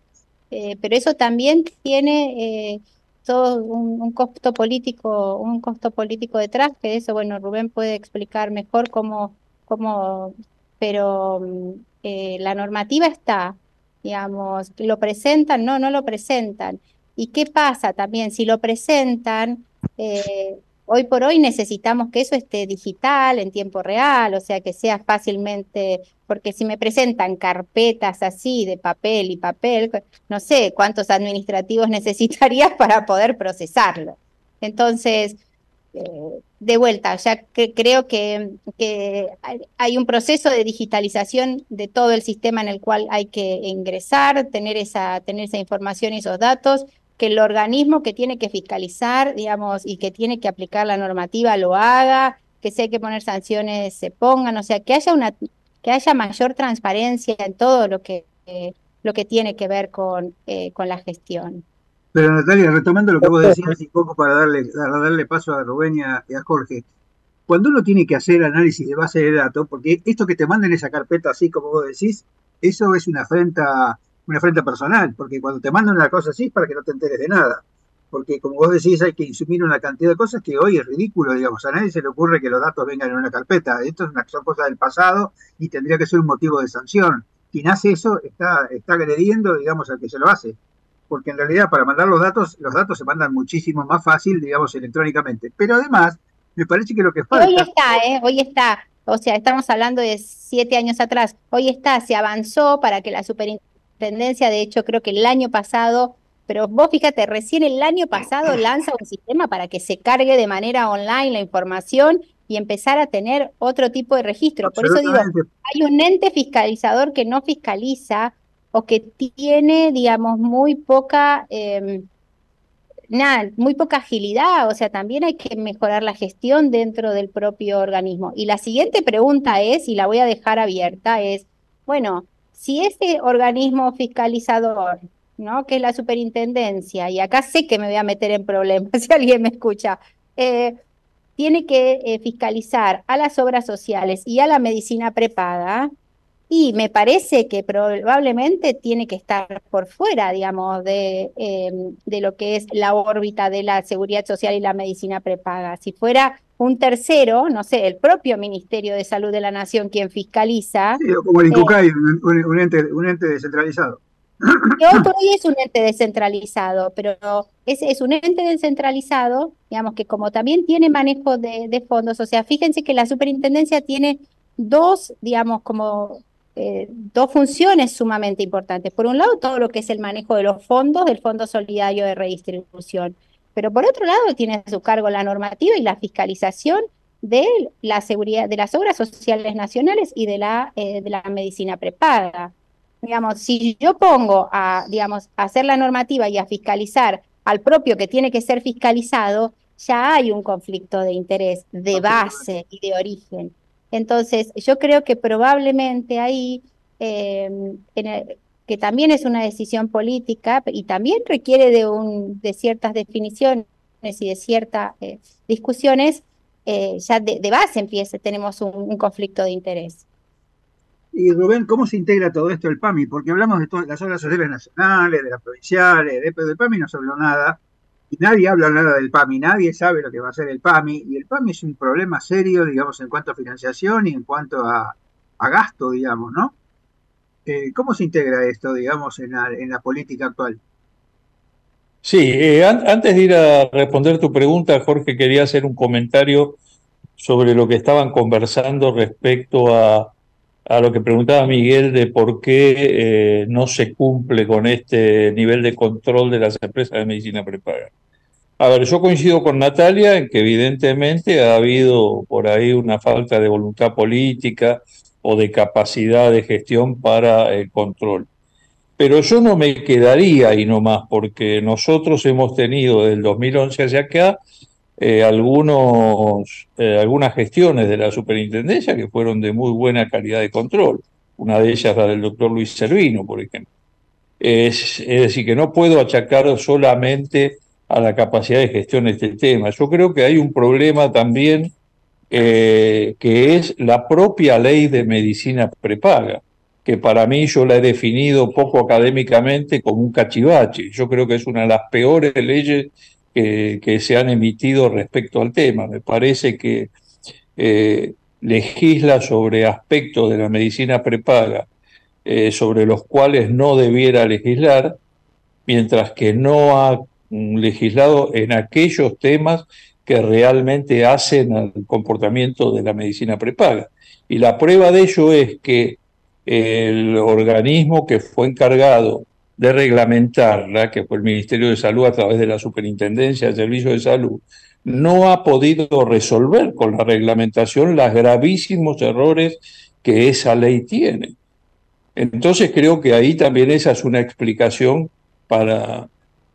eh, pero eso también tiene eh, todo un, un costo político, un costo político detrás, que eso, bueno, Rubén puede explicar mejor cómo, cómo, pero mm, eh, la normativa está, digamos, lo presentan, no, no lo presentan. ¿Y qué pasa también? Si lo presentan, eh, hoy por hoy necesitamos que eso esté digital, en tiempo real, o sea, que sea fácilmente, porque si me presentan carpetas así de papel y papel, no sé cuántos administrativos necesitarías para poder procesarlo. Entonces, eh, de vuelta, ya que creo que, que hay, hay un proceso de digitalización de todo el sistema en el cual hay que ingresar, tener esa, tener esa información y esos datos, que el organismo que tiene que fiscalizar, digamos, y que tiene que aplicar la normativa lo haga, que si hay que poner sanciones se pongan, o sea, que haya una, que haya mayor transparencia en todo lo que, eh, lo que tiene que ver con, eh, con la gestión. Pero Natalia, retomando lo que vos decías y poco para darle, para darle paso a Rubén y a, y a Jorge, cuando uno tiene que hacer análisis de base de datos, porque esto que te manden esa carpeta así como vos decís, eso es una afrenta, una afrenta personal, porque cuando te mandan una cosa así es para que no te enteres de nada. Porque como vos decís, hay que insumir una cantidad de cosas que hoy es ridículo, digamos, a nadie se le ocurre que los datos vengan en una carpeta. Esto es una, son cosas del pasado y tendría que ser un motivo de sanción. Quien hace eso está, está agrediendo, digamos, al que se lo hace. Porque en realidad para mandar los datos, los datos se mandan muchísimo más fácil, digamos, electrónicamente. Pero además, me parece que lo que Y hoy falta... está, ¿eh? Hoy está. O sea, estamos hablando de siete años atrás. Hoy está, se avanzó para que la superintendencia, de hecho, creo que el año pasado, pero vos fíjate, recién el año pasado lanza un sistema para que se cargue de manera online la información y empezar a tener otro tipo de registro. Por eso digo, Absolutamente. hay un ente fiscalizador que no fiscaliza o que tiene, digamos, muy poca... eh, nada, muy poca agilidad, o sea, también hay que mejorar la gestión dentro del propio organismo. Y la siguiente pregunta es, y la voy a dejar abierta, es, bueno, si ese organismo fiscalizador, ¿no? Que es la superintendencia, y acá sé que me voy a meter en problemas si alguien me escucha, eh, tiene que eh, fiscalizar a las obras sociales y a la medicina prepaga, Y me parece que probablemente tiene que estar por fuera, digamos, de, eh, de lo que es la órbita de la seguridad social y la medicina prepaga. Si fuera un tercero, no sé, el propio Ministerio de Salud de la Nación quien fiscaliza. Sí, o como el eh, INCUCAI, un, un- un ente, un ente descentralizado. que hoy por hoy es un ente descentralizado, pero es, es un ente descentralizado, digamos que como también tiene manejo de, de fondos, o sea, fíjense que la superintendencia tiene dos, digamos, como eh, dos funciones sumamente importantes. Por un lado, todo lo que es el manejo de los fondos, del Fondo Solidario de Redistribución, pero por otro lado tiene a su cargo la normativa y la fiscalización de la seguridad, de las obras sociales nacionales y de la, eh, de la medicina prepaga. Digamos, si yo pongo a, digamos, a hacer la normativa y a fiscalizar al propio que tiene que ser fiscalizado, ya hay un conflicto de interés de base y de origen. Entonces, yo creo que probablemente ahí, eh, en el- que también es una decisión política y también requiere de, un, de ciertas definiciones y de ciertas eh, discusiones, eh, ya de, de base empieza, tenemos un, un conflicto de interés. Y Rubén, ¿cómo se integra todo esto el PAMI? Porque hablamos de todas las obras sociales nacionales, de las provinciales, de, pero del PAMI no se habló nada, y nadie habla nada del PAMI, nadie sabe lo que va a hacer el PAMI, y el PAMI es un problema serio, digamos, en cuanto a financiación y en cuanto a, a gasto, digamos, ¿no? Eh, ¿cómo se integra esto, digamos, en la, en la política actual? Sí, eh, an- antes de ir a responder tu pregunta, Jorge, quería hacer un comentario sobre lo que estaban conversando respecto a, a lo que preguntaba Miguel de por qué eh, no se cumple con este nivel de control de las empresas de medicina prepaga. A ver, yo coincido con Natalia en que evidentemente ha habido por ahí una falta de voluntad política o de capacidad de gestión para el control. Pero yo no me quedaría ahí nomás, porque nosotros hemos tenido desde el dos mil once hacia acá eh, algunos, eh, algunas gestiones de la superintendencia que fueron de muy buena calidad de control. Una de ellas la del doctor Luis Servino, por ejemplo. Es, es decir, que no puedo achacar solamente a la capacidad de gestión de este tema. Yo creo que hay un problema también eh, que es la propia ley de medicina prepaga, que para mí yo la he definido poco académicamente como un cachivache. Yo creo que es una de las peores leyes que, que se han emitido respecto al tema. Me parece que eh, legisla sobre aspectos de la medicina prepaga eh, sobre los cuales no debiera legislar, mientras que no ha mm, legislado en aquellos temas que realmente hacen al comportamiento de la medicina prepaga. Y la prueba de ello es que el organismo que fue encargado de reglamentarla, que fue el Ministerio de Salud a través de la Superintendencia de Servicios de Salud, no ha podido resolver con la reglamentación los gravísimos errores que esa ley tiene. Entonces creo que ahí también esa es una explicación para,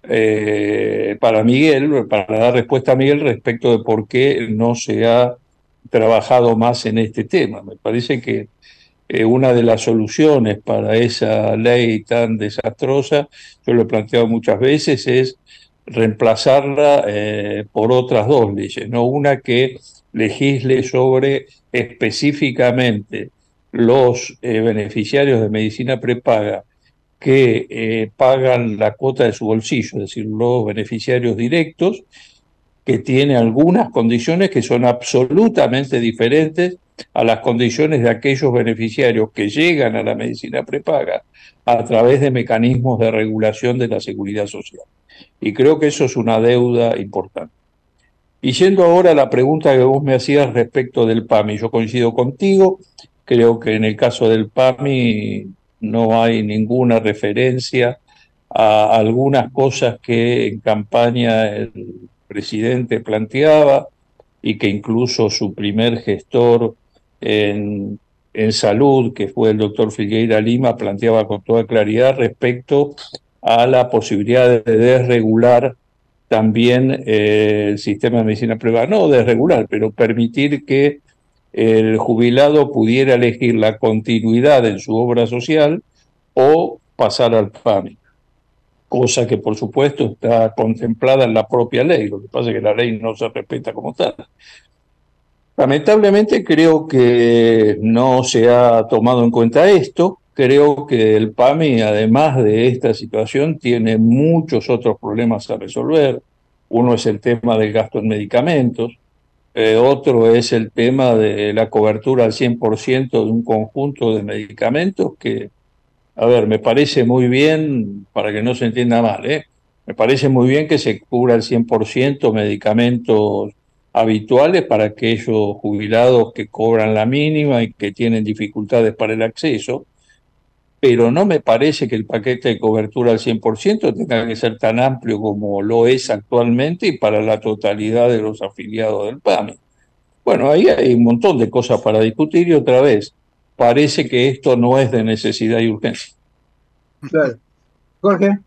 eh, para Miguel, para dar respuesta a Miguel respecto de por qué no se ha trabajado más en este tema. Me parece que eh, una de las soluciones para esa ley tan desastrosa, yo lo he planteado muchas veces, es reemplazarla eh, por otras dos leyes, ¿no? Una que legisle sobre específicamente los eh, beneficiarios de medicina prepaga que eh, pagan la cuota de su bolsillo, es decir, los beneficiarios directos, que tiene algunas condiciones que son absolutamente diferentes a las condiciones de aquellos beneficiarios que llegan a la medicina prepaga a través de mecanismos de regulación de la seguridad social. Y creo que eso es una deuda importante. Y yendo ahora a la pregunta que vos me hacías respecto del PAMI, yo coincido contigo, creo que en el caso del PAMI no hay ninguna referencia a algunas cosas que en campaña el presidente planteaba y que incluso su primer gestor en, en salud, que fue el doctor Filgueira Lima, planteaba con toda claridad respecto a la posibilidad de desregular también eh, el sistema de medicina privada, no desregular, pero permitir que el jubilado pudiera elegir la continuidad en su obra social o pasar al PAMI, cosa que por supuesto está contemplada en la propia ley, lo que pasa es que la ley no se respeta como tal. Lamentablemente creo que no se ha tomado en cuenta esto. Creo que el PAMI, además de esta situación, tiene muchos otros problemas a resolver. Uno es el tema del gasto en medicamentos, eh, otro es el tema de la cobertura al cien por ciento de un conjunto de medicamentos que, a ver, me parece muy bien, para que no se entienda mal, ¿eh? Me parece muy bien que se cubra al cien por ciento medicamentos habituales para aquellos jubilados que cobran la mínima y que tienen dificultades para el acceso, pero no me parece que el paquete de cobertura al cien por ciento tenga que ser tan amplio como lo es actualmente y para la totalidad de los afiliados del PAMI. Bueno, ahí hay un montón de cosas para discutir y otra vez, parece que esto no es de necesidad y urgencia. Claro. Jorge.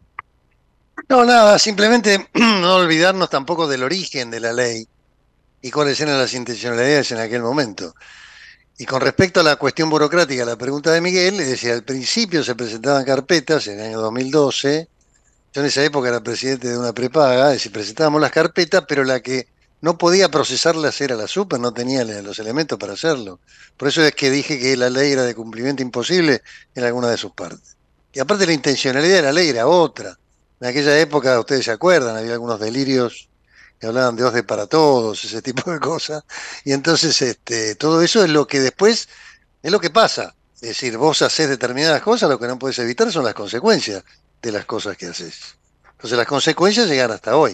No, nada, simplemente no olvidarnos tampoco del origen de la ley y cuáles eran las intencionalidades en aquel momento. Y con respecto a la cuestión burocrática, la pregunta de Miguel, es decir, al principio se presentaban carpetas en el año dos mil doce, yo en esa época era presidente de una prepaga, es decir, presentábamos las carpetas, pero la que no podía procesarlas era la super, no tenía los elementos para hacerlo. Por eso es que dije que la ley era de cumplimiento imposible en alguna de sus partes. Y aparte la intencionalidad de la ley era otra. En aquella época, ustedes se acuerdan, había algunos delirios que hablaban de O S D E para todos, ese tipo de cosas. Y entonces este, todo eso es lo que después, es lo que pasa. Es decir, vos haces determinadas cosas, lo que no puedes evitar son las consecuencias de las cosas que haces. Entonces las consecuencias llegan hasta hoy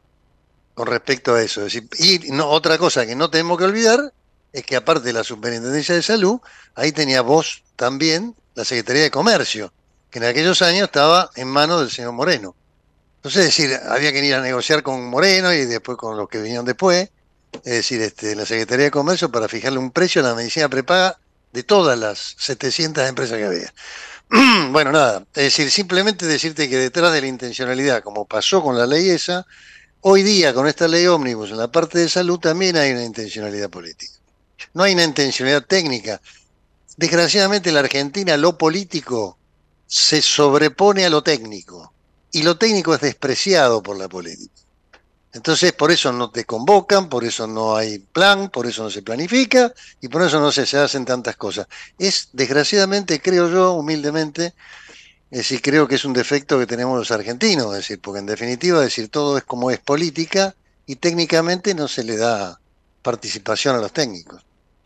con respecto a eso. Es decir, y no, otra cosa que no tenemos que olvidar es que aparte de la Superintendencia de Salud, ahí tenía vos también la Secretaría de Comercio, que en aquellos años estaba en manos del señor Moreno. Entonces, es decir, había que ir a negociar con Moreno y después con los que vinieron después, es decir, este, la Secretaría de Comercio para fijarle un precio a la medicina prepaga de todas las setecientas empresas que había. Bueno, nada, es decir, simplemente decirte que detrás de la intencionalidad, como pasó con la ley esa, hoy día con esta ley ómnibus en la parte de salud también hay una intencionalidad política. No hay una intencionalidad técnica. Desgraciadamente en la Argentina lo político se sobrepone a lo técnico y lo técnico es despreciado por la política. Entonces por eso no te convocan, por eso no hay plan, por eso no se planifica y por eso no se, se hacen tantas cosas. Es desgraciadamente, creo yo, humildemente, es decir, creo que es un defecto que tenemos los argentinos, es decir, porque en definitiva, es decir, todo es como es política y técnicamente no se le da participación a los técnicos.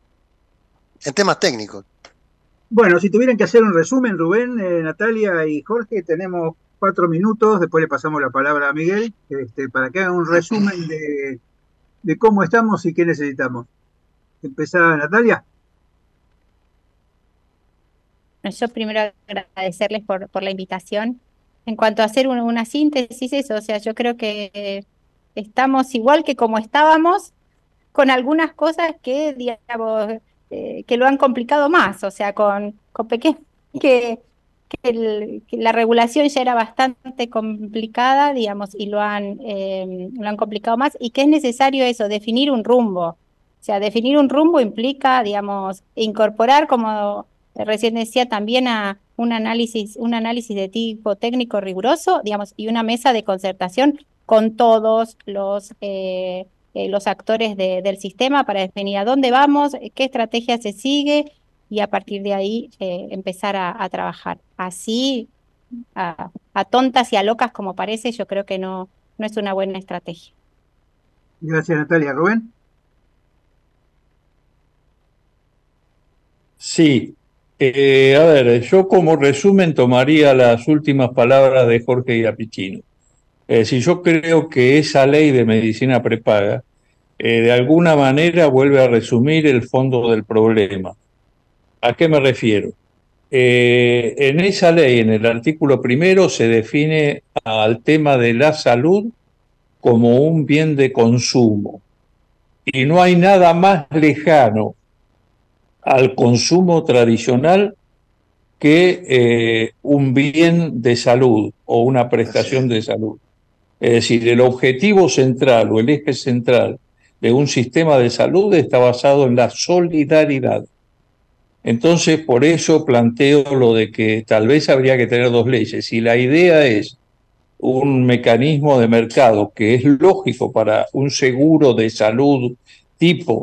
En temas técnicos. Bueno, si tuvieran que hacer un resumen, Rubén, eh, Natalia y Jorge, tenemos cuatro minutos, después le pasamos la palabra a Miguel, este, para que hagan un resumen de, de cómo estamos y qué necesitamos. ¿Empezá, Natalia? Yo primero agradecerles por, por la invitación. En cuanto a hacer una, una síntesis, eso, o sea, yo creo que eh, estamos igual que como estábamos, con algunas cosas que, digamos, eh, que lo han complicado más, o sea, con, con pequeños, que, que, el, que la regulación ya era bastante complicada, digamos, y lo han, eh, lo han complicado más, y que es necesario eso, definir un rumbo. O sea, definir un rumbo implica, digamos, incorporar, como recién decía, también a un análisis, un análisis de tipo técnico riguroso, digamos, y una mesa de concertación con todos los, eh, eh, los actores de, del sistema para definir a dónde vamos, qué estrategia se sigue y a partir de ahí eh, empezar a, a trabajar. Así, a, a tontas y a locas como parece, yo creo que no, no es una buena estrategia. Gracias, Natalia. ¿Rubén? Sí. Eh, a ver, yo como resumen tomaría las últimas palabras de Jorge Iapicino. Es decir, yo creo que esa ley de medicina prepaga eh, de alguna manera vuelve a resumir el fondo del problema. ¿A qué me refiero? Eh, en esa ley, en el artículo primero, se define al tema de la salud como un bien de consumo. Y no hay nada más lejano al consumo tradicional que eh, un bien de salud o una prestación de salud. Es decir, el objetivo central o el eje central de un sistema de salud está basado en la solidaridad. Entonces, por eso planteo lo de que tal vez habría que tener dos leyes. Si la idea es un mecanismo de mercado que es lógico para un seguro de salud tipo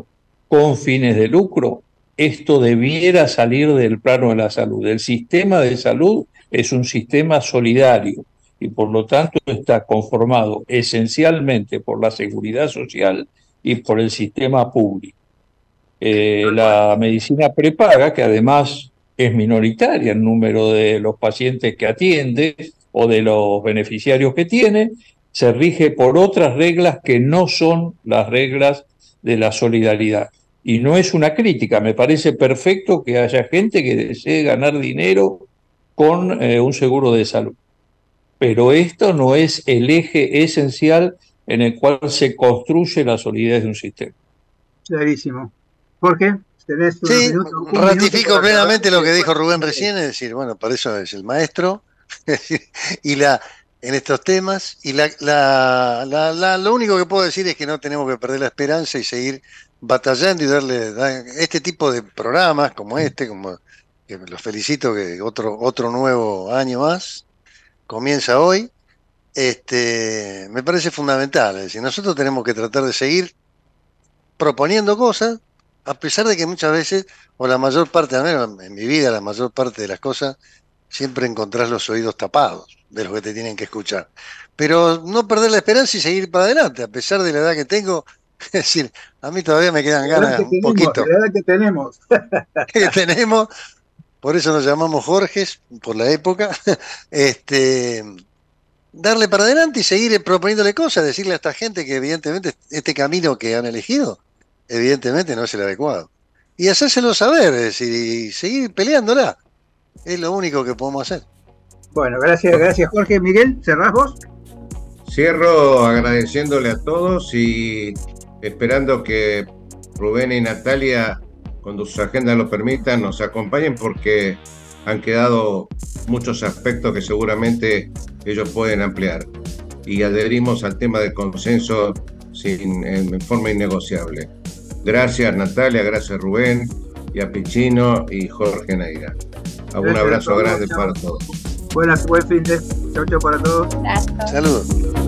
con fines de lucro, esto debiera salir del plano de la salud. El sistema de salud es un sistema solidario y por lo tanto está conformado esencialmente por la seguridad social y por el sistema público. Eh, la medicina prepaga, que además es minoritaria en número de los pacientes que atiende o de los beneficiarios que tiene, se rige por otras reglas que no son las reglas de la solidaridad. Y no es una crítica, me parece perfecto que haya gente que desee ganar dinero con eh, un seguro de salud. Pero esto no es el eje esencial en el cual se construye la solidez de un sistema. Clarísimo. Jorge, tenés un sí, minuto, un ratifico minuto plenamente lo que dijo bueno, Rubén recién, es decir, bueno, para eso es el maestro y la en estos temas, y la, la, la, la, lo único que puedo decir es que no tenemos que perder la esperanza y seguir batallando y darle dar, este tipo de programas como este, como que los felicito que otro, otro nuevo año más comienza hoy, este, me parece fundamental. Es decir, nosotros tenemos que tratar de seguir proponiendo cosas, a pesar de que muchas veces, o la mayor parte, al menos en mi vida, la mayor parte de las cosas, siempre encontrás los oídos tapados de los que te tienen que escuchar. Pero no perder la esperanza y seguir para adelante, a pesar de la edad que tengo. Es decir, a mí todavía me quedan ganas un tenemos, poquito. La edad que tenemos. que tenemos, por eso nos llamamos Jorges, por la época. Este, darle para adelante y seguir proponiéndole cosas, decirle a esta gente que evidentemente este camino que han elegido, evidentemente no es el adecuado. Y hacérselo saber, es decir, y seguir peleándola. Es lo único que podemos hacer. Bueno, gracias, gracias Jorge. Miguel, ¿cerrás vos? Cierro agradeciéndole a todos y esperando que Rubén y Natalia, cuando sus agendas lo permitan, nos acompañen porque han quedado muchos aspectos que seguramente ellos pueden ampliar. Y adherimos al tema del consenso sin, en forma innegociable. Gracias Natalia, gracias Rubén y a Pichino y Jorge Neira. Un Gracias abrazo todos, grande chao. para todos. Buenas, buen fin de. Chau, chau para todos. Gracias. Saludos.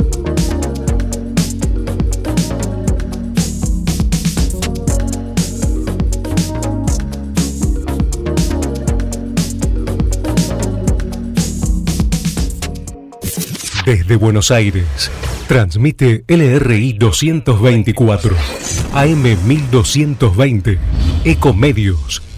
Desde Buenos Aires, transmite L R I doscientos veinticuatro, A M mil doscientos veinte, Ecomedios.